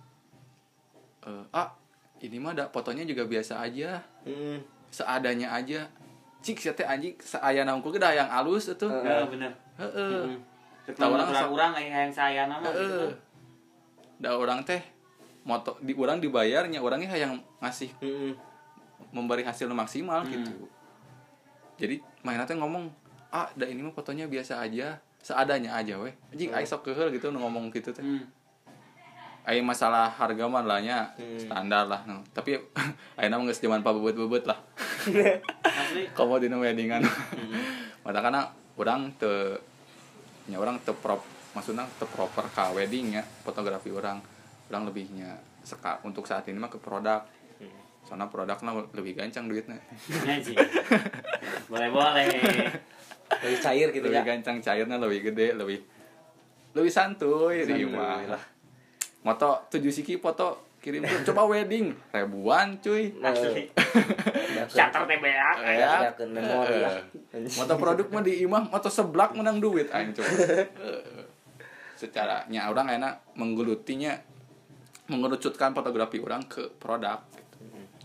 eh ah ini mah ada fotonya juga biasa aja hmm. seadanya aja cik sia teh anjing saayana hungkul ge da yang alus atuh heeh bener heeh kita urang-urang aya yang sayana mah heeh da urang teh moto di urang dibayarnya urangnya hayang ngasih hmm. memberi hasil maksimal hmm. gitu jadi mainna teh ngomong ah da ini mah fotonya biasa aja seadanya aja weh anjing ai sok keheul gitu nu ngomong gitu teh hmm. ai masalah harga mah lah nya hmm. standar lah no. Tapi ayeuna mah geus zaman pabebet-bebet lah asli komo dina weddingan hmm. mata kana urang teu nya urang teu prop maksudna teu proper ka wedding nya fotografi urang urang lebihnya seka untuk saat ini mah ke produk hmm. soalnya produknya lebih gancang duitnya boleh boleh lebih cair gitu lebih ya gancang cairnya lebih gede lebih lebih santuy di mah moto tujuh siki foto kirim tuh coba wedding ribuan cuy asli charter T B A ya memori ya moto produk mah di imah moto seblak menang duit aing coba secara nya orang enak menggelutinya mengerucutkan fotografi orang ke produk gitu.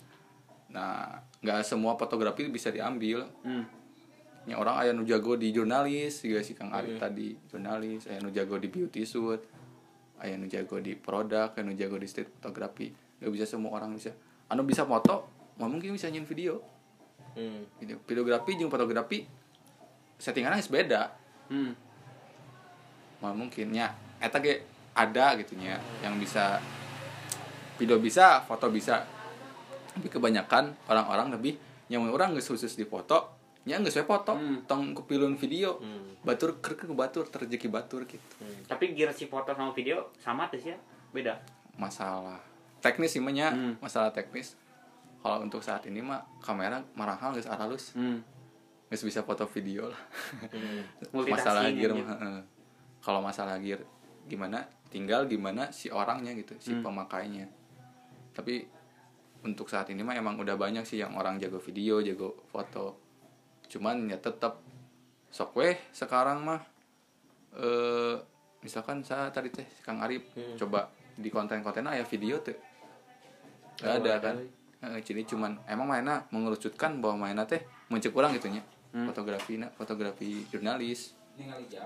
Nah nggak semua fotografi bisa diambil hmm. nya orang aya nu jago di jurnalis juga si Kang Arif hmm. tadi jurnalis aya nu jago di beauty shoot aya nu jago di produk aya nu jago di street fotografi nggak bisa semua orang bisa anu bisa foto mau mungkin bisa nyin video hmm. video videografi jeung fotografi settingannya beda hmm. mau mungkin nya eta ge ada gitu nya yang bisa video bisa foto bisa tapi kebanyakan orang-orang lebih yang orang geus khusus di foto nya geus we foto hmm. tong kepilun video hmm. batur keur ke batur terjeki batur gitu hmm. tapi gear si foto sama video sama tuh ya beda masalah teknis sih mah nya hmm. masalah teknis kalau untuk saat ini mah kamera marahal geus halus hmm. geus bisa foto video lah hmm. masalah gear mah heeh kalau masalah gear gimana tinggal gimana si orangnya gitu si hmm. pemakainya tapi untuk saat ini mah emang udah banyak sih yang orang jago video jago foto cuman ya tetap sok weh sekarang mah eh misalkan saya tadi teh Kang Arif hmm. coba di konten-konten aya video tuh nggak ada kan eh, jadi cuman emang mainnya mengerucutkan bahwa mainnya teh muncul kurang gitunya hmm. fotografi na fotografi jurnalis jam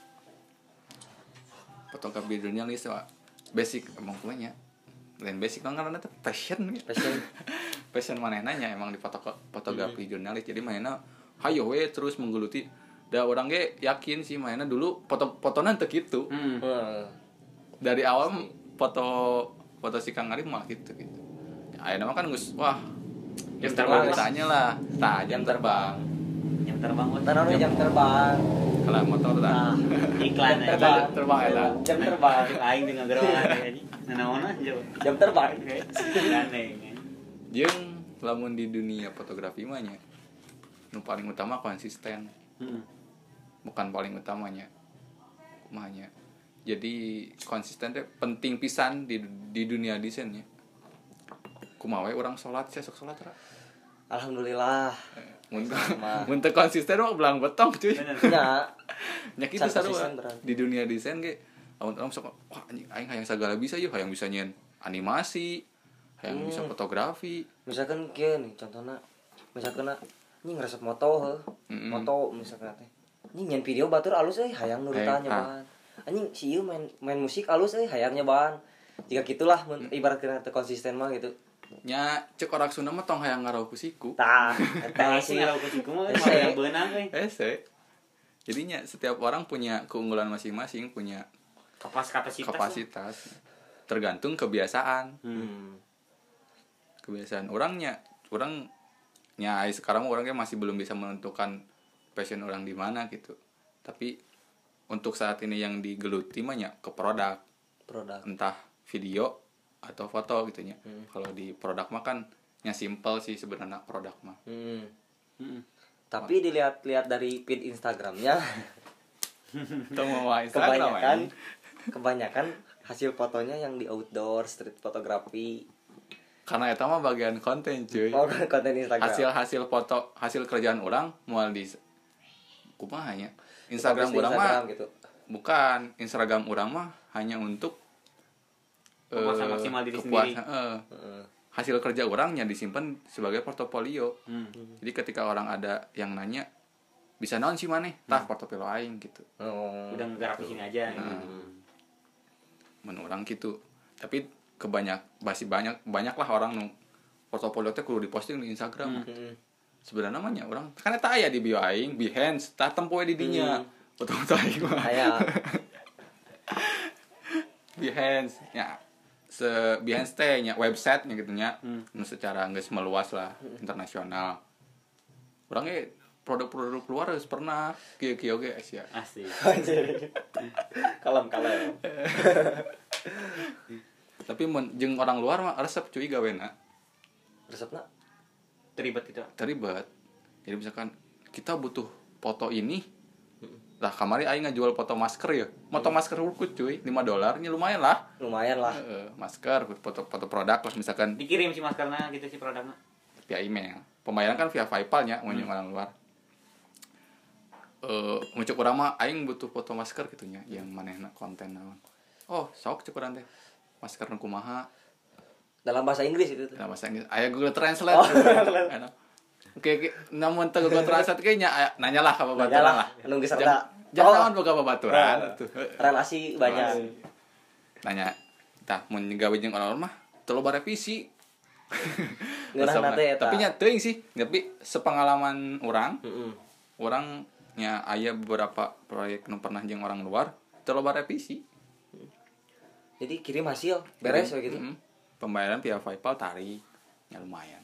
fotografi jurnalis wah basic emang punya lain basic kan karena itu passion passion passion mana nanya emang di foto fotografi hmm. jurnalis jadi mainnya hayo we terus menggeluti da orang ge yakin sih mainnya dulu foto fotonan teu kitu hmm. dari awal si. foto foto si Kang Arif mah gitu gitu ayeuna mah kan geus wah jam terbang tanya lah tah jam terbang jam terbang taruh jam terbang kalau motor tah iklan aja terbang eta jam terbang aing dengan geroan jadi nanaona jam terbang aneh jeung lamun di dunia fotografi mah nya nu paling utama konsisten hmm. bukan paling utamanya kumanya jadi konsisten teh penting pisan di di dunia desainnya kumaha we urang salat saya sok salat ra alhamdulillah mun mun teu konsisten mah belang betong cuy nya nya kitu sarua di dunia desain ge lamun urang sok wah anjing aing hayang sagala bisa yeuh hayang bisa nyen animasi hayang hmm. bisa fotografi misalkan kieu nih contohna misalkan anjing resep moto heuh mm-hmm. moto misalkan teh anjing nyen video batur alus euy hayang nurutan nyobaan anjing si ieu main main musik alus euy hayang nyobaan jika gitulah mm. ibaratkeun teu konsisten mah gitu nya cek orang Sunda mah tong hayang ngarau ku siku tah eta sih ngarau ku siku mah hayang beunang euy ese jadinya setiap orang punya keunggulan masing-masing punya kapasitas kapasitas tergantung kebiasaan hmm. kebiasaan orangnya orang nya sekarang orangnya masih belum bisa menentukan passion orang di mana gitu tapi untuk saat ini yang digeluti mah nya ke produk produk entah video atau foto gitu nya hmm. kalau di produk mah kan nya simple sih sebenarnya produk mah. Hmm. Hmm. Tapi dilihat-lihat dari feed Instagramnya Tuh mau Instagram kebanyakan kebanyakan hasil fotonya yang di outdoor street photography. Karena itu mah bagian konten cuy. Oh, konten Instagram. Hasil hasil foto hasil kerjaan orang mual di kumaha nya Instagram Di orang mah gitu. bukan Instagram orang mah hanya untuk Kepuasan eh, maksimal diri kepuasan, sendiri. eh, Heeh. hasil kerja orangnya disimpan sebagai portofolio. Hmm. Jadi ketika orang ada yang nanya bisa naon sih maneh tah portofolio aing gitu. Oh. Udah nggarap di sini aja. Hmm. Men orang gitu. Tapi kebanyak masih banyak banyaklah orang nu portofolio teh kudu diposting di Instagram. Hmm. Sebenarnya namanya orang kan eta aya di bio aing Behance tah tempoe di dinya. Hmm. Foto-foto aing mah. Kayak Behance ya se Behance teh nya website nya gitu nya. Hmm. Nu secara geus meluas lah internasional. Urang ge produk-produk luar geus pernah kieu-kieu ge Asia. Asik. kalem-kalem. Tapi mun jeung orang luar mah resep cuy gawena. Resepna Terlibat gitu. Terlibat. Jadi misalkan kita butuh foto ini, lah kamari aing ngajual foto masker ya. Foto masker urkut cuy, lima dolar nya lumayan lah. lumayan lah. Heeh, masker foto foto produk lah misalkan Dikirim si maskernya gitu si produknya. via email. Pembayaran kan via PayPal nya mun Hmm. orang luar. Eh, mun cek urang mah aing butuh foto masker gitu nya, yang manehna konten naon. Oh, sok cek urang teh. Masker nu kumaha? Dalam bahasa Inggris itu tuh. Dalam bahasa Inggris. Aya Google Translate. Oh. Enak. Oke, oke. Namun teu Google Translate ge nya aya- nanyalah ka babaturan Nanyalah, lah. nunggu serta. Jangan- Jangan Oh. naon boga babaturan Nah, tuh. relasi banyak. Nanya, tah mun gawe jeung orang mah teu loba revisi. Ngeunahna teh eta. Tapi nya teuing sih, tapi sepengalaman orang, Heeh. orang nya aya beberapa proyek nu pernah jeung orang luar teu loba revisi. Jadi kirim hasil beres we gitu. Mm-mm. Pembayaran via PayPal tarik, ya lumayan.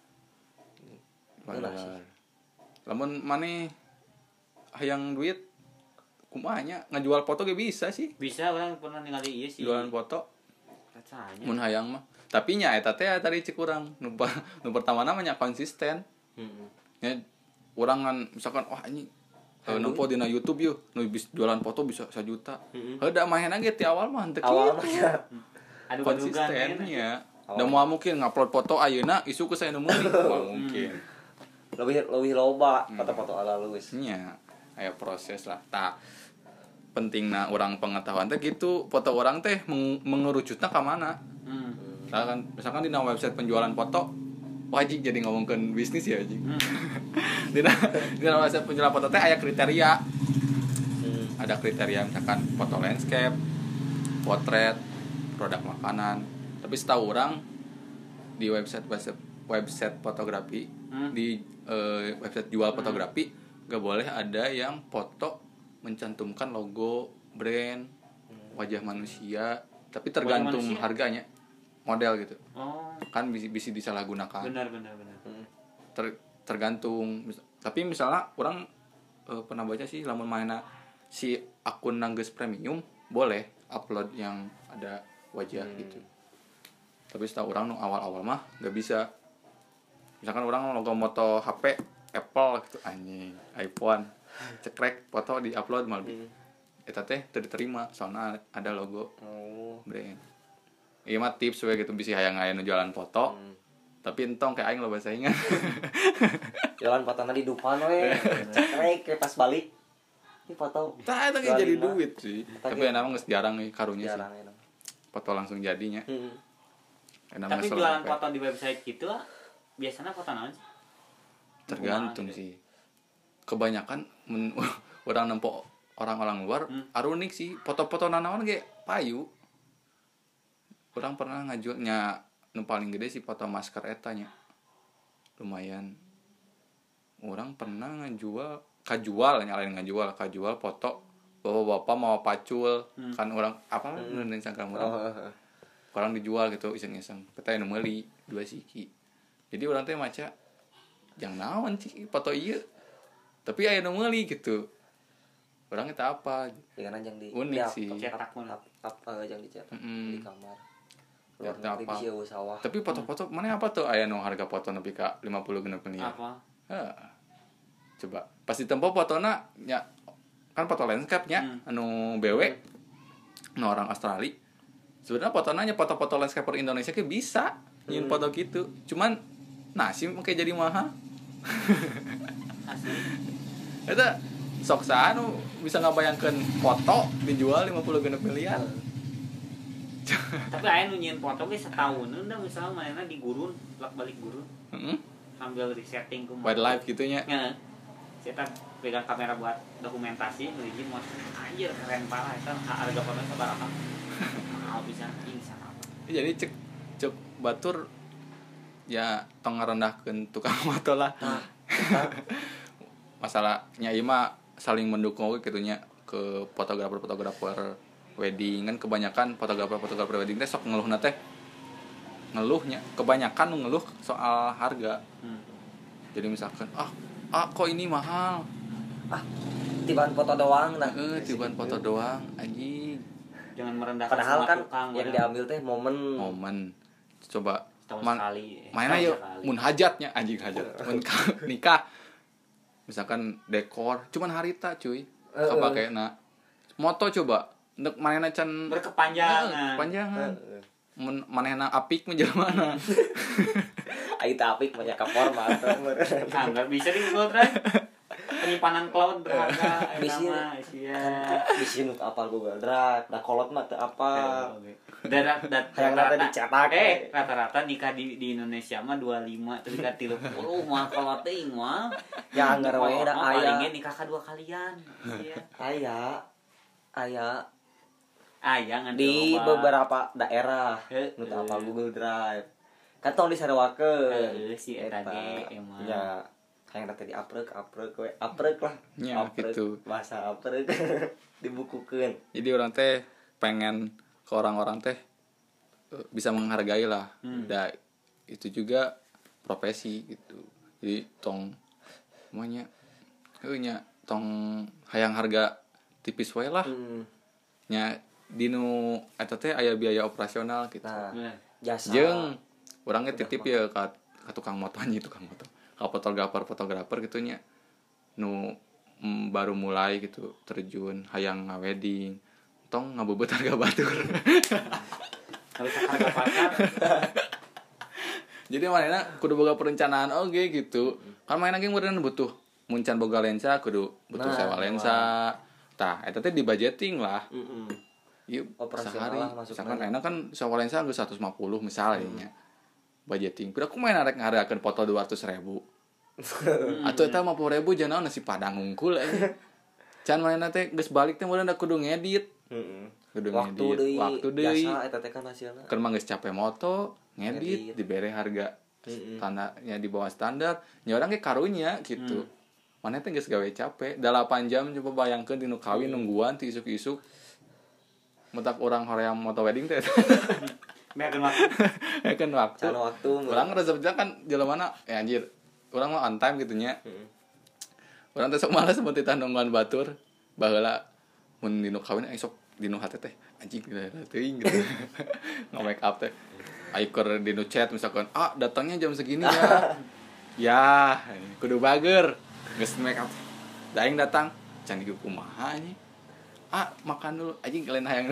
Enak sih. Lamun maneh hayang duit kumaha nya ngajual foto ge bisa sih. Bisa orang pernah ningali ieu sih. Jualan foto Rasanya. mun hayang mah. Tapi nya eta teh tadi cek urang nu pa- nu pertama namanya konsisten. Heeh. Ya urang kan misalkan wah anjing uh, nempo dina YouTube yeuh nu bis jualan foto bisa satu juta. Heeh. Heuda mahena ge ti awal mah teu Awal mah kitu. ya. Aduh Konsisten badugan, nya. Awal. Da moal mungkin ngupload foto ayeuna isu ke saya nu meuli moal mungkin. Lebih lebih loba foto-foto ala luwes. Nya aya proses lah. Tah pentingna urang pengetahuan teh gitu foto orang teh meng- mengerucutna ka mana. Hmm. Misalkan misalkan di website penjualan foto wajib jadi ngomongkeun bisnis ya anjing. Hmm. di di website penjualan foto teh aya kriteria. Hmm. Ada kriteria misalkan foto landscape, potret, produk makanan. Tapi setahu orang di website website, website fotografi Hmm. di eh, website jual fotografi gak boleh ada yang foto mencantumkan logo brand, wajah manusia, tapi tergantung manusia? harganya, model gitu. Oh, Kan bisa bisa disalahgunakan. benar benar benar. Ter- tergantung. Mis- Tapi misalnya orang eh, pernah baca sih lamun mainna si akun nanggeus premium boleh upload yang ada wajah gitu. Tapi setahu orang nu awal-awal mah nggak bisa. Misalkan orang logo moto H P Apple gitu anjing, iPhone, cekrek foto di upload malah eta teh teu diterima soalnya ada logo Oh. brand. Iya mah tips we gitu bisa hayang aya nu jualan foto. Hmm. Tapi entong kayak aing loba saingan. Jalan fotona di Dupan we. Cekrek ke pas balik. Ini foto Tah eta ge Jual jadi lima. duit sih. Eta Tapi ge- enak geus jarang nih karunya jarang sih. ya. Foto langsung jadinya. Heeh. Enak Tapi geus jualan sampai. foto di website gitu lah, biasanya foto naon sih? Tergantung Kumaha gitu. sih. Kebanyakan men, orang nempo orang-orang luar Hmm. arunik sih. Foto-foto nanaon ge payu. Orang pernah ngajualnya nu paling gede sih foto masker eta nya. Lumayan. Orang pernah ngajual kajual nyalain ngajual kajual foto bapak-bapak mau pacul Hmm. kan orang apa hmm. nu Instagram orang Oh, heeh. orang dijual gitu iseng-iseng kita yang meuli dua siki jadi orang teh maca jangan naon sih foto iya tapi aya nu meuli gitu orang eta apa Dengan anjang di Unik di up- sih. up- Cetak up- up- up, eh, yang dicetak Mm-mm. di kamar. luar negeri bisa eueuh sawah. Tapi foto-foto mana apa tuh aya nu harga foto nepi ka lima puluh genep miliar. Apa? Heeh. Coba pas ditempo fotona nya kan foto landscape nya Hmm. anu B W nu orang Australia. Sebenarnya fotonya nya foto-foto landscaper Indonesia ke bisa nyin Hmm. foto gitu. Cuman nasi kayak jadi mahal. Asli. Eta sok anu bisa ngabayangkeun foto dijual lima puluh genep miliar. Tapi aya nu nyieun foto ge setahun da misalnya manehna di gurun, lak balik gurun. Heeh. Sambil resetting ku Wildlife gitu nya. Heeh. Saya pegang kamera buat dokumentasi nu hiji mah anjir keren parah eta harga foto sabaraha. Mau bisa insya Allah. Jadi cek cek batur ya tong ngarendahkeun tukang foto lah. Nah, Masalahnya ieu mah saling mendukung we kitu nya ke fotografer-fotografer wedding kan kebanyakan fotografer-fotografer wedding teh sok ngeluhna teh ngeluhnya kebanyakan nu ngeluh soal harga. Hmm. Jadi misalkan ah ah kok ini mahal. ah tibaan foto doang nah. Heeh, tibaan foto doang anjing. Jangan merendahkan Padahal semua kan tukang, yang padahal. diambil teh momen. Momen coba Setahun man, sekali. mana Setahun yuk sekali. mun hajatnya anjing hajat mun ka- nikah misalkan dekor cuman harita cuy kapake na moto coba nek manehna can Berkepanjangan. panjangan mun manehna apik mah jelema Ai tapik banyak kapor mah Ah, nggak bisa di Google Drive. Penyimpanan cloud berharga. Bisa. Nama, Asia. bisa nu apal Google Drive da kolot mah teu apa. Dan dan Hayang rata dicetak. Eh, rata-rata nikah di di Indonesia mah dua puluh lima terus ka tiga puluh mah kalau teuing mah. Ya anggar we da aya. Paling nikah ka dua kalian. Iya. Aya aya Aya ngan di loba. beberapa daerah Heeh. nu teu apal Google Drive. Kan tong disarewakeun. Heeh, si eta ge emang. Ya, hayang rata diaprek aprek we aprek lah. Ya, Aprek, gitu. Bahasa aprek dibukukeun. jadi orang teh pengen ke orang-orang teh eh, bisa menghargai lah Hmm. da itu juga profesi gitu jadi tong semuanya nya tong hayang harga tipis wae lah Hmm. nya dinu eta teh aya biaya operasional gitu Nah, Nah, jasa jeung urang ge titip ya ka, ka tukang moto anjing tukang moto ka fotografer fotografer gitu nya nu mm, baru mulai gitu terjun hayang ngawedding tong ngabebeut harga batur harus harga pasar. jadi manehna kudu boga perencanaan oge gitu kan manehna ge meureun butuh muncan boga lensa kudu butuh Nah, sewa lensa tah eta teh di budgeting lah Mm-mm. ieu Operasional sehari lah masukna. misalkan enak kan sewa lensa geus seratus lima puluh misalnya budgeting pira kumaha arek ngarakeun foto dua ratus ribu atuh eta lima puluh ribu jangan nasi padang ngungkul aja can manehna teh geus balik teh meureun da kudu ngedit Mm-mm. kudu Waktu ngedit deui, waktu deui jasa eta teh kan hasilna. keur mah geus capek moto ngedit Ngedit. dibere harga Mm-mm. standarnya di bawah standar nya urang ge karunya gitu maneh teh geus gawe capek delapan jam coba bayangkeun dinu kawin nungguan ti isuk-isuk mentak urang hoream moto wedding teh Meakeun waktu. ya kan waktu Can waktu urang reserve kan jelemana ya anjir urang mah on time gitu nya Mm-mm. urang teh sok males seperti nungguan batur baheula mun dinu kawin ai sok dinu hate teh anjing teuing gitu nge make up teh ai keur dinu chat misalkan ah datangnya jam segini ya ya kudu bager geus make up da aing datang can ieu kumaha anjing ah makan dulu anjing kalian hayang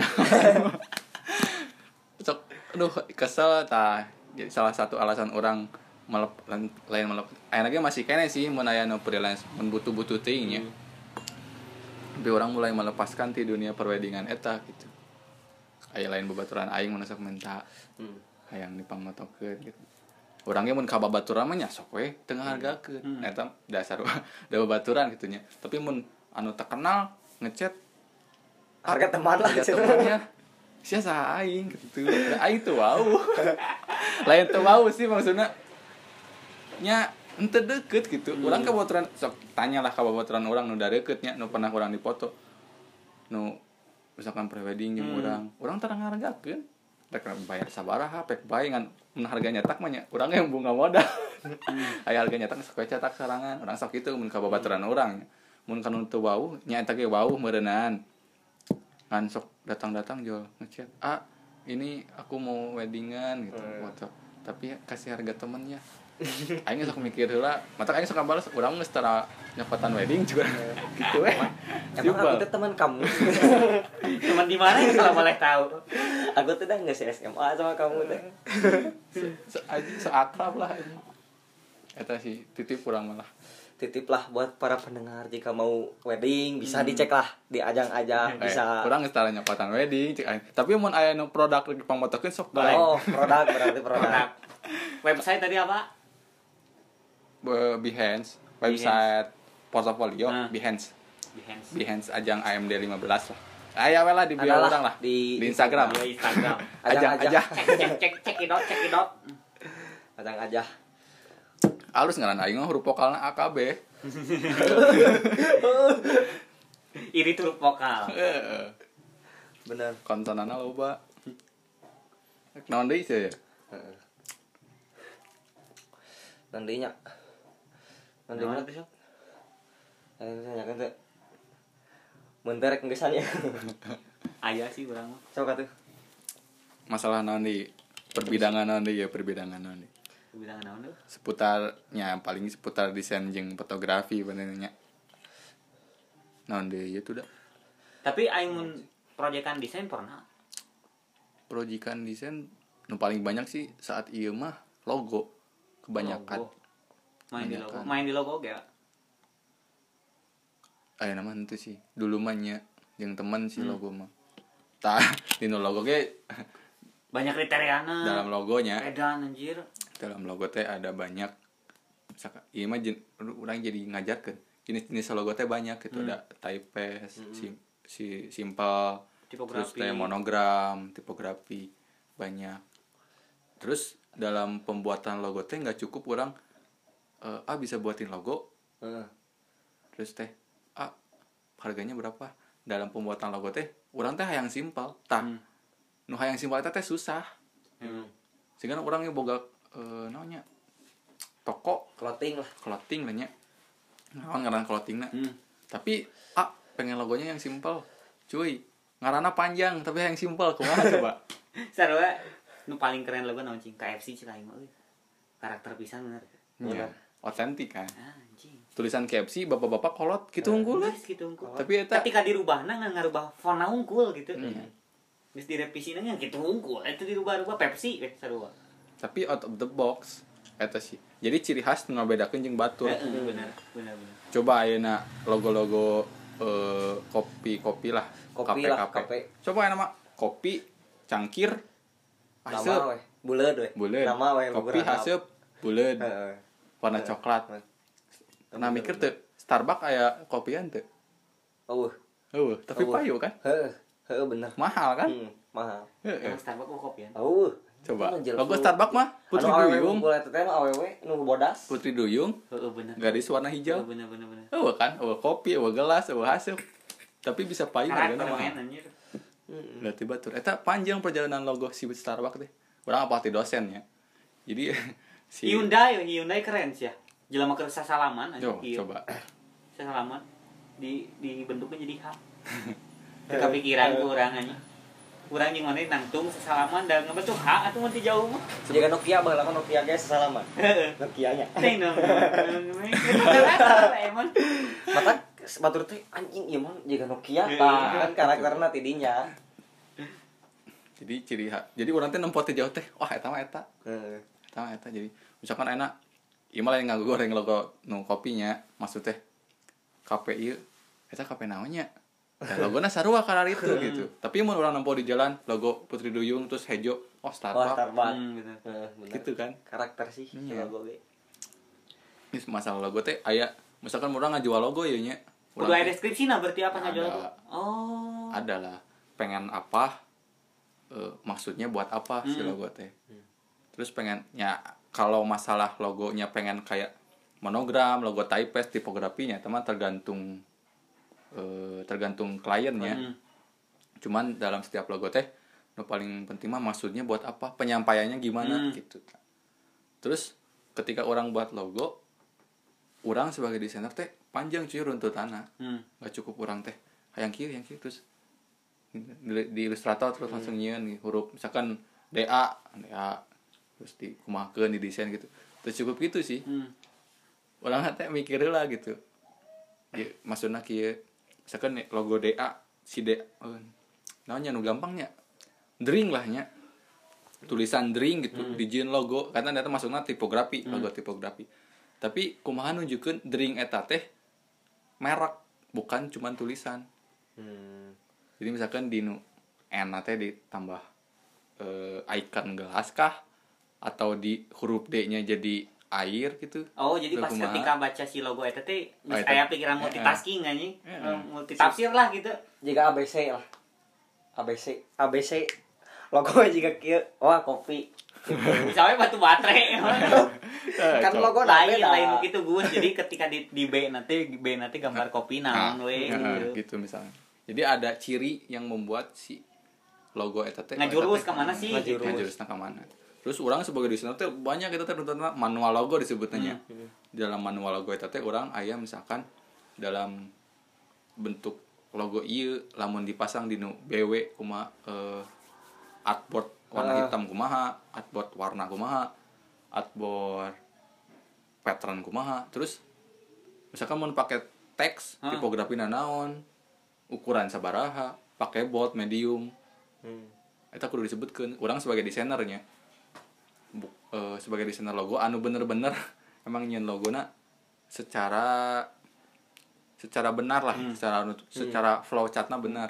sok aduh kesel tah jadi salah satu alasan orang melep lain lain melep ayeuna masih kene sih mun aya nu freelance mun butuh-butuh teuing nya tapi orang mulai melepaskan di dunia perweddingan eta gitu aya lain babaturan aing mun sok minta Hmm. hayang dipangmotokeun gitu urangnya mun ka babaturan mah nya sok we teu ngahargakeun Hmm. eta dasar da babaturan gitu nya tapi mun anu terkenal ngechat Harga teman lah harga cenah. temannya sia saha aing gitu da aing teu wau lain teu wau sih maksudna nya ente deket gitu Hmm. urang ka babaturan sok tanyalah ka babaturan urang nu da deket nya nu pernah urang dipoto nu misalkan prewedding jeung Hmm. urang urang teu ngahargakeun rek bayar sabaraha pek bae ngan mun harga nyetak mah nya urang yang bunga modal aya harga nyetak sok we cetak sarangan urang sok kitu mun ka babaturan urang mun kana teu wau nya eta ge wau meureunan ngan sok datang-datang jual ngechat ah ini aku mau weddingan gitu Hmm. foto tapi kasih harga temennya. Aing sok mikir heula, mata aing sok balas urang geus tara nyokatan wedding juga. Gitu we. Emang aku teh teman kamu. Teman di mana ya kalau boleh tahu? Aku tuh udah nggak S M A sama kamu teh. Se se akrab lah ini. Eta sih titip urang malah. Titiplah buat para pendengar jika mau wedding bisa dicek lah di ajang-ajang bisa. Eh, urang geus tara nyokatan wedding cik aing. Tapi mun aya nu produk lagi pangmotokeun sok bae. Oh, produk berarti produk. Produk. Website tadi apa? Be- Behance, website portofolio Nah. Behance. Behance. Behance ajang A M D lima belas lah. Aya we lah di bio Adalah urang lah. di Di Instagram. Di Instagram. Ajang Ajang-ajang. aja. Cek cek cek cek it out, cek it out. Ajang aja. Halus ngaran aing mah huruf vokalna A K B. Iri huruf vokal. Heeh. Bener. Konsonanna loba. Naon deui sih ya? Heeh. Nantinya. Nanti Naon mana tuh, Sok? Eh, misalnya kan tuh. Menterek ngesannya. Aya sih urang mah. Coba tuh. Masalah naon deui? Perbidangan naon deui ya, perbidangan naon deui? Bilang naon tuh? Seputarnya paling seputar desain jeung fotografi benernya. Naon deui ya tuh dah. Tapi aing mun proyekan desain pernah. Proyekan desain nu paling banyak sih saat ieu mah logo kebanyakan. Logo. Main di logo. Kebanyakan. Main di logo ge. Aya nama itu sih. Dulu mah nya jeung teman sih Hmm. logo mah. Tah dinu logo ge Banyak kriteriana. dalam logonya. Edan anjir. Dalam logo teh ada banyak misalkan ieu mah jen, urang jadi ngajarkeun jenis-jenis logo teh banyak gitu. Hmm. Ada typeface, sim, si simple, terus Tipografi. teh monogram, tipografi banyak. Terus dalam pembuatan logo teh nggak cukup orang eh, ah bisa buatin logo Heeh. terus teh ah harganya berapa. Dalam pembuatan logo teh orang teh hayang simpel tah Hmm. nu hayang simpel eta teh susah Hmm. sehingga orangnya boga eh, naonnya toko Clothing lah. clothing lah nya naon ngaran clothingna. Hmm. Tapi ah pengen logonya yang simpel cuy, ngaranna panjang tapi yang simpel kumaha coba. Sarua nu paling keren logo naon cing K F C cing aing mah euy. Karakter pisan bener. Iya, otentik kan. Ah, anjing. Tulisan K F C bapak-bapak kolot gitu unggul lah. Geus gitu unggul. Tapi eta Ketika dirubahna ngan ngarubah fonna unggul gitu. Hmm. Geus direvisina nya gitu unggul. Eta dirubah-rubah Pepsi we sarua. tapi out of the box eta sih. Jadi ciri khas nu ngabedakeun jeung batur. Heeh, bener, bener, bener. Coba ayeuna logo-logo eh, kopi-kopi lah, Kopi kafe, lah, kafe. kafe. Coba aya nama kopi cangkir Nama haseup weh. Buleud weh. buleud. Nama weh Kopi haseup buleud. Heeh. Warna coklat. Pernah mikir tuh Starbucks aya kopian tuh? Oh. Eueuh, tapi Eueuh. payu kan? Heeh. Heeh bener. Mahal kan? Hmm, mahal. Heeh. Emang Starbucks mau kopian. Oh. Coba. Itu mah Logo jelek. Starbucks mah Putri Anu awewe Duyung. ngumpul eta teh mah awewe nu bodas. Putri Duyung, Heeh, bener. garis warna Heeh, hijau. bener, bener, bener. Eueuh kan? Eueuh kopi, eueuh gelas, eueuh haseup. Tapi bisa payu Karakter hargana men mahal. anjir. Heeh. Berarti batur. Eta panjang perjalanan logo si Starbucks teh. Urang apa ti dosen ya. Jadi si Hyundai, Hyundai keren sih ya. Jelema keur sasalaman anjing. Yo, Iya. coba. Sasalaman di dibentuknya jadi H. Kepikiran ku urang anjing. Urang jeung mana nangtung sasalaman dan ngebentuk H atuh mun ti jauh mah. Jaga Nokia baheula mah Nokia ge sasalaman. Heeh. Nokia-nya. Ting dong. Emang Mata batur teh anjing ieu mah jaga Nokia Iya. tah kan karakterna ti dinya. Jadi ciri khas. Jadi urang teh nempo teh jauh teh. Wah, eta mah eta. Heeh. Eta mah eta. Jadi misalkan enak ieu mah lain nganggo goreng logo nu kopinya, maksud teh K P ieu eta K P naon nya? Dan logona sarua karar itu gitu. Tapi mun urang nempo di jalan logo Putri Duyung terus hejo, oh Wah, Starbucks. Starbucks. Hmm, gitu. Heeh, bener. Gitu kan. Karakter sih Iya. logo ge. Ini masalah logo teh aya misalkan urang ngajual logo ieu nya. Kudu aya deskripsina berarti apa Ada. ngajual tuh? Oh. Ada lah pengen apa eh, maksudnya buat apa si Hmm. logo teh. Terus pengen ya kalau masalah logonya pengen kayak monogram, logo typeface, tipografinya teman tergantung eh, tergantung kliennya. Hmm. Cuman dalam setiap logo teh nu paling penting mah maksudnya buat apa, penyampaiannya gimana Hmm. gitu. Terus ketika orang buat logo, orang sebagai desainer teh panjang cuy runtutanna. Hmm. Gak cukup orang teh hayang kieu yang kieu terus di, di Illustrator terus hmm. langsung nyieun huruf misalkan D A D A terus di kumahakeun di desain gitu terus cukup gitu sih hmm. orang teh mikir lah gitu ya, maksudnya kieu misalkan logo D A si D oh, namanya nu gampangnya dring lah nya tulisan dring gitu hmm. dijieun logo karena eta masukna tipografi hmm. logo tipografi tapi kumaha nunjukeun dring eta teh merek bukan cuman tulisan hmm. jadi misalkan di nu N teh ditambah uh, icon gelas kah atau di huruf D-nya jadi air gitu. Oh, jadi pas kumaha. Ketika baca si logo eta teh geus aya pikiran multitasking anjing. Yeah. Multitafsir lah gitu. Jika A B C lah. A B C, A B C logo jika kieu, wah kopi. Misalnya batu baterai. Kan logo lain lain gitu Gus. Jadi ketika di, di B nanti B nanti gambar kopi naon we gitu. Gitu misalnya. Jadi ada ciri yang membuat si logo eta teh ngajurus ka mana sih? Ngajurusna ka mana? Terus orang sebagai desainer teh banyak kita teh manual logo disebutnya. Hmm. Dalam manual logo eta teh urang aya misalkan dalam bentuk logo ieu lamun dipasang di nu B W kumaha uh, artboard warna uh. hitam kumaha, artboard warna kumaha, artboard pattern kumaha. Terus misalkan mau pakai teks, uh. tipografina naon, ukuran sabaraha, pakai bold, medium. Hmm. Eta kudu disebutkeun urang sebagai desainernya. Bu, uh, sebagai desainer logo anu bener-bener emang nyen logona secara secara benar lah hmm. secara hmm. secara flow chartnya benar.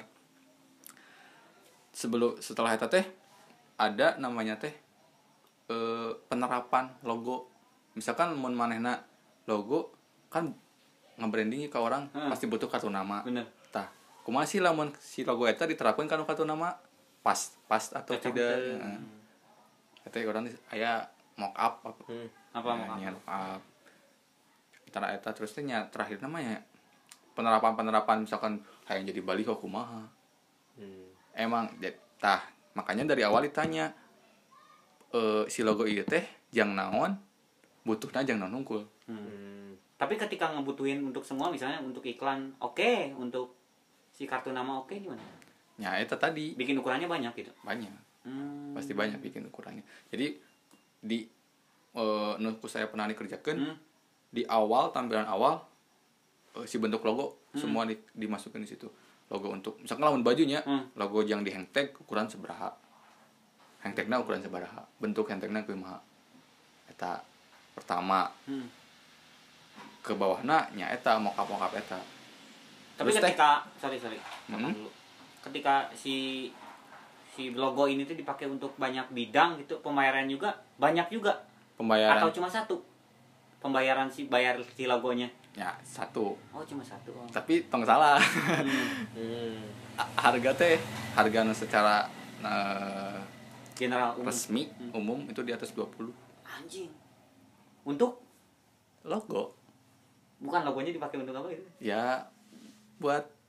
Sebelum setelah eta teh ada namanya teh uh, penerapan logo. Misalkan mun manehna logo kan nge-branding ke orang hmm. pasti butuh kartu nama. Bener. Tah, kumaha sih lamun si logo eta diterapkeun kana kartu nama pas pas atau Kacang tidak? Heeh. Eta orang aya mock up apa hmm. apa mock up, mock up. Antara eta terus teh nya terakhir namanya penerapan-penerapan misalkan hayang jadi baliho kumaha. Hmm. Emang tah makanya dari awal ditanya e, si logo ieu teh jang naon butuhna jang naon hungkul. Hmm. Tapi ketika ngebutuhin untuk semua misalnya untuk iklan oke, okay. Untuk si kartu nama oke okay, gimana? Ya eta tadi bikin ukurannya banyak gitu. Banyak. Hmm. Pasti banyak bikin ukurannya. Jadi di uh, nuku saya pernah dikerjakan hmm. di awal tampilan awal uh, si bentuk logo hmm. semua di, dimasukin di situ. Logo untuk misalkan lawan bajunya, hmm. logo yang di hangtag ukuran sabaraha. Hangtagna ukuran sabaraha. Bentuk hangtagna kumaha. Eta pertama. Hmm. Ke bawahna nya eta mock-up-mock-up eta. Tapi terus ketika te, sorry sorry. Hmm? Dulu. Ketika si si logo ini tuh dipakai untuk banyak bidang gitu, pembayaran juga banyak juga. Pembayaran atau cuma satu? Pembayaran si bayar si logonya. Ya, satu. Oh, cuma satu. Oh. Tapi tong salah. Hmm. Harga teh, harga secara uh, general umum. Resmi hmm. umum itu di atas dua puluh. Anjing. Untuk logo. Bukan logonya dipakai untuk apa itu? Ya, buat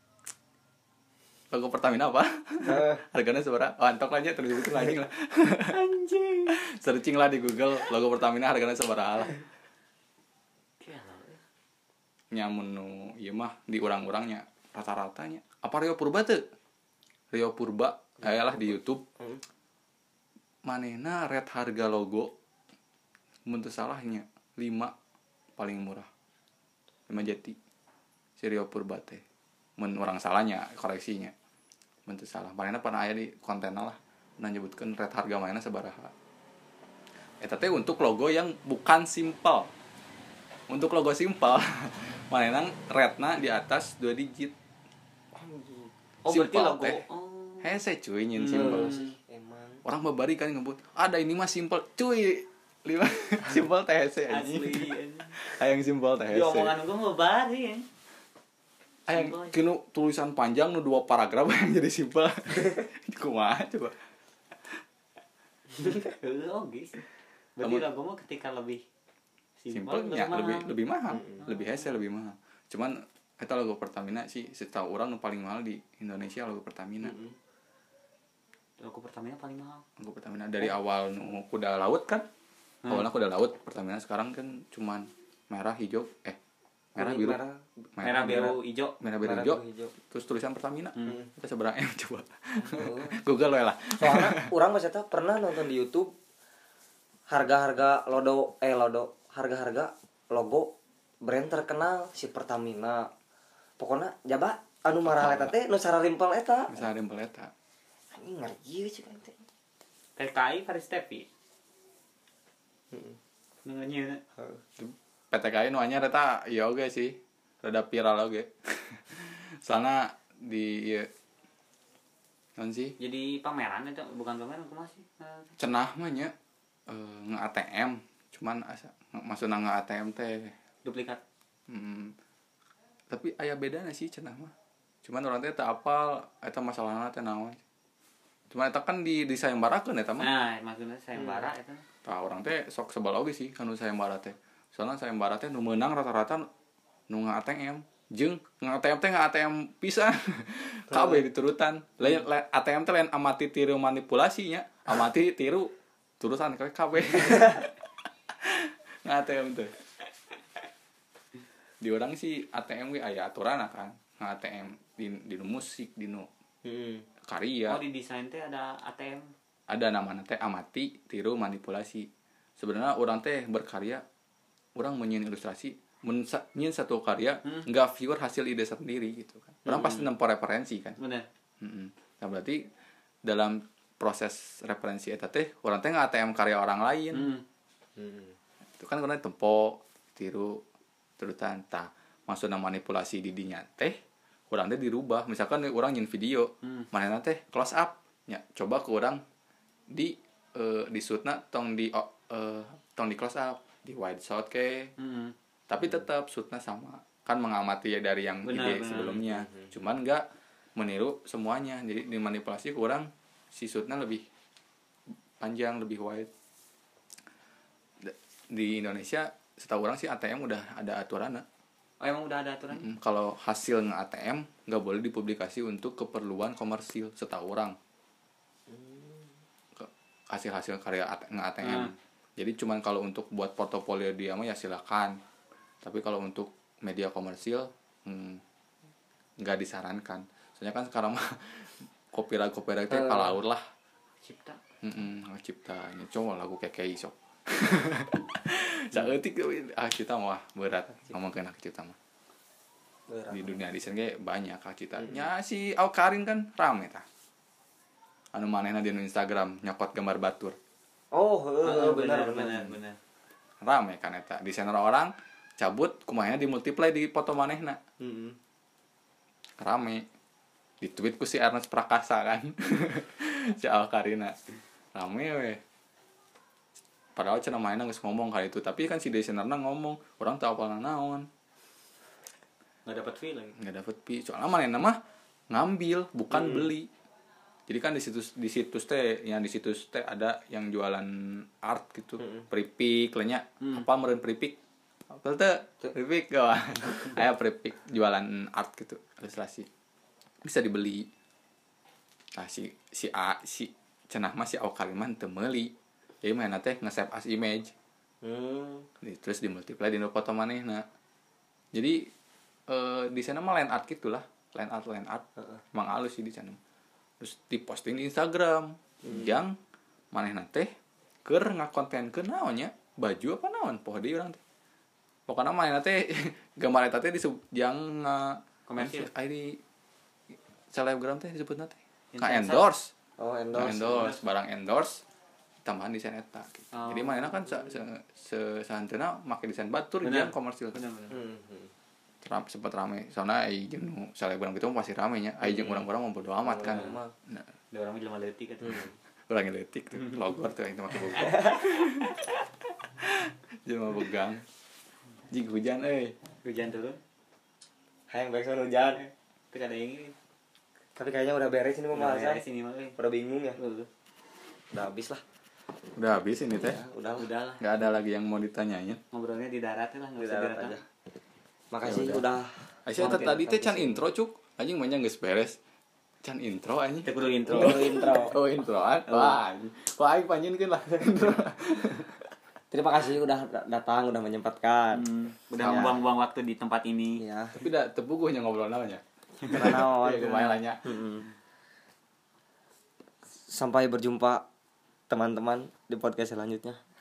logo Pertamina apa? Uh. Harganya seberapa? Oh, antok aja terus itu anjing lah. Anjing. Searching lah di Google logo Pertamina harganya seberapa lah. Nyamun nu ieu mah di urang-urangnya rata-ratanya. Apa Rio Purba teu? Rio Purba ayalah di YouTube. Hmm. Manehna red harga logo mun teu salahnya lima paling murah. lima jati. Si Rio Purba teh. Mun urang salahnya koreksinya. Bentuk salah. Manehna pernah aya di kontenna lah. Nah nyebutkeun red harga manehna sabaraha. Eta teh untuk logo yang bukan simple. Untuk logo simple, manehna redna di atas dua digit. Oh, berarti logo. Teh. Oh. Hese cuy nyin simple. Hmm. Emang. Orang babari kan ngebut. Ada ini mah simple. Cuy. Lima simple teh hese anjing. Hayang simple teh hese. Di omongan gua babari ya. Ayang kinu tulisan panjang nu dua paragraf yang jadi simpel. Kumaha coba. Oh, guys. Berarti logo mah ketika lebih simpel ya lebih lebih mahal, hmm. lebih hese lebih mahal. Cuman eta logo Pertamina sih setahu orang nu paling mahal di Indonesia logo Pertamina. Hmm. Logo Pertamina paling mahal. Logo Pertamina dari oh. awal nu kuda laut kan. Hmm. Awalnya kuda laut, Pertamina sekarang kan cuman merah, hijau, eh merah biru merah, merah biru hijau. merah biru merah, hijau biru, hijau. terus tulisan Pertamina. Hmm. Kita seberang M coba. Oh. Google we lah. Soalnya orang maksudnya pernah nonton di YouTube harga-harga lodo eh lodo harga-harga logo brand terkenal si Pertamina. Pokoknya jaba anu marah eta teh nu sararimpel eta. Bisa rimpel eta. Anjing ngari sih kan teh. T K I Faris Tepi. Heeh. Ngeunyeun. P T K I nu anyar eta ieu oge sih. Rada viral oge. Soalnya di ieu non sih Jadi pameran itu bukan pameran kumaha sih? cenah mah nya uh, nge-A T M cuman asa maksudna nge-A T M teh Duplikat. hmm, tapi aya bedana sih cenah mah cuman orang teh teu apal eta masalahna teh naon cuman eta kan di di sayembarakeun eta mah Nah, maksudnya sayembara itu. tah orang teh sok sebal oge sih kanu sayembara teh soalna sayembara teh nu meunang rata-rata nu nge-A T M jeung nge-A T M teh nge-A T M pisan kabeh diturutan lain A T M teh lain amati tiru manipulasinya amati tiru turutan kabeh nge-A T M teh di orang sih A T M ge aya aturan kan nge-A T M di di musik di nu Heeh. karya Oh, di desain teh ada A T M. ada namanya teh amati tiru manipulasi sebenarnya orang teh berkarya orang menyin ilustrasi menyin satu karya Hmm. nggak viewer hasil ide sendiri gitu kan orang Hmm. pasti nempo referensi kan Bener. mm nah berarti dalam proses referensi eta teh orang teh nggak A T M karya orang lain Hmm. Heeh. itu kan karena tempo tiru turutan tah maksudna manipulasi di dinya teh orang teh dirubah misalkan orang nyin video Hmm. mana teh close up ya coba ke orang di uh, di shootna tong di uh, tong di close up di wide shot ke Hmm. tapi tetap shootna sama kan mengamati ya dari yang Benar, ide benar. sebelumnya cuman nggak meniru semuanya jadi dimanipulasi kurang si shootna lebih panjang lebih wide D- di Indonesia setahu orang sih A T M udah ada aturan. Oh, emang udah ada aturan? Mm, kalau hasil nge-A T M nggak boleh dipublikasi untuk keperluan komersil setahu orang. Ke- Hasil-hasil karya nge-A T M. Hmm. Jadi cuman kalau untuk buat portofolio dia mah ya silakan. Tapi kalau untuk media komersil hmm, nggak disarankan. Soalnya kan sekarang mah copyright copyright teh palaur lah. Cipta. Heeh, cipta ini coba lagu kekei sok. Saeutik ah cipta mah berat ngomongkeun hak cipta mah. Di dunia desain ge banyak hak cipta. Nya si Aukarin kan rame tah. Anu manehna di Instagram nyokot gambar batur. Oh, heeh, Oh, benar benar benar. benar benar. Rame kan eta. Desainer orang cabut kumaha di multiply di foto manehna. Heeh. Rame. Di tweet ku si Ernest Prakasa kan. Si Aukarina. Rame we. Padahal cenah mainan geus ngomong kali itu, tapi kan si desainerna ngomong, orang teu apal naon. Enggak dapat fee lagi. Enggak dapet pi. Soalnya manehna mah ngambil, bukan Hmm. beli. Jadi kan di situs di situs teh, yang di situs teh ada yang jualan art gitu, Hmm. pripik lenya. Hmm. Apa meureun pripik? Apal teh? Pripik gak? Aya pripik jualan art gitu, ilustrasi. Bisa dibeli. Nah, si si A si cenah mah si Aukaliman teu meuli. Jadi mana teh nge-save as image. Hmm. Di- terus dimultiply di foto manehna. Jadi eh di sana mah line art gitulah, line art line art. Heeh. Emang halus sih di sana. Terus diposting di Instagram. Yang manehna teh keur ngakontenkeun naon nya? Baju apa naon? Poho deui urang teh. Pokona manehna teh gambar eta teh disebut yang Komersil. I D selebgram teh disebutna teh. Ka Influencer. endorse. Oh, Nah, endorse. endorse barang endorse tambahan desain eta gitu. Oh. Jadi manehna kan se se, se sahanteuna make desain batur Bener. jeung komersil. Benar benar. Hmm. hmm. Ram, sempat rame. Soalnya ai jeung nu selebgram gitu mah pasti rame nya. Ai jeung urang-urang mah bodo amat kan. Mah. Nah, Ada orang jelema leutik kan. urang ngeletik tuh logor tuh itu mah kebuka. Jelema begang. Jig hujan euy. Hujan turun. Hayang backsound hujan. Tapi ada yang ini. Tapi kayaknya udah beres ini Udah pembahasan. beres ini mah euy. Udah bingung ya? Heeh. Udah habis lah. Udah habis ini teh. Ya, udah lah. Udah lah. Enggak ada lagi yang mau ditanyain. Ngobrolnya di darat lah, enggak Di usah darat darat aja. Makasih Ya udah. Aisyah Mampir tadi teh ke can sini. intro cuk. Anjing mah geus beres. Can intro anjing. Kita kudu intro. Intro intro. Oh introan. Wah. Wah aing panjeunkeun lah intro. Terima kasih udah datang, udah menyempatkan. Hmm, udah membuang-buang waktu di tempat ini. Iya. Tapi udah tepuguhnya ngobrol namanya. Karena Iya, lumayan lah. Sampai berjumpa teman-teman di podcast selanjutnya.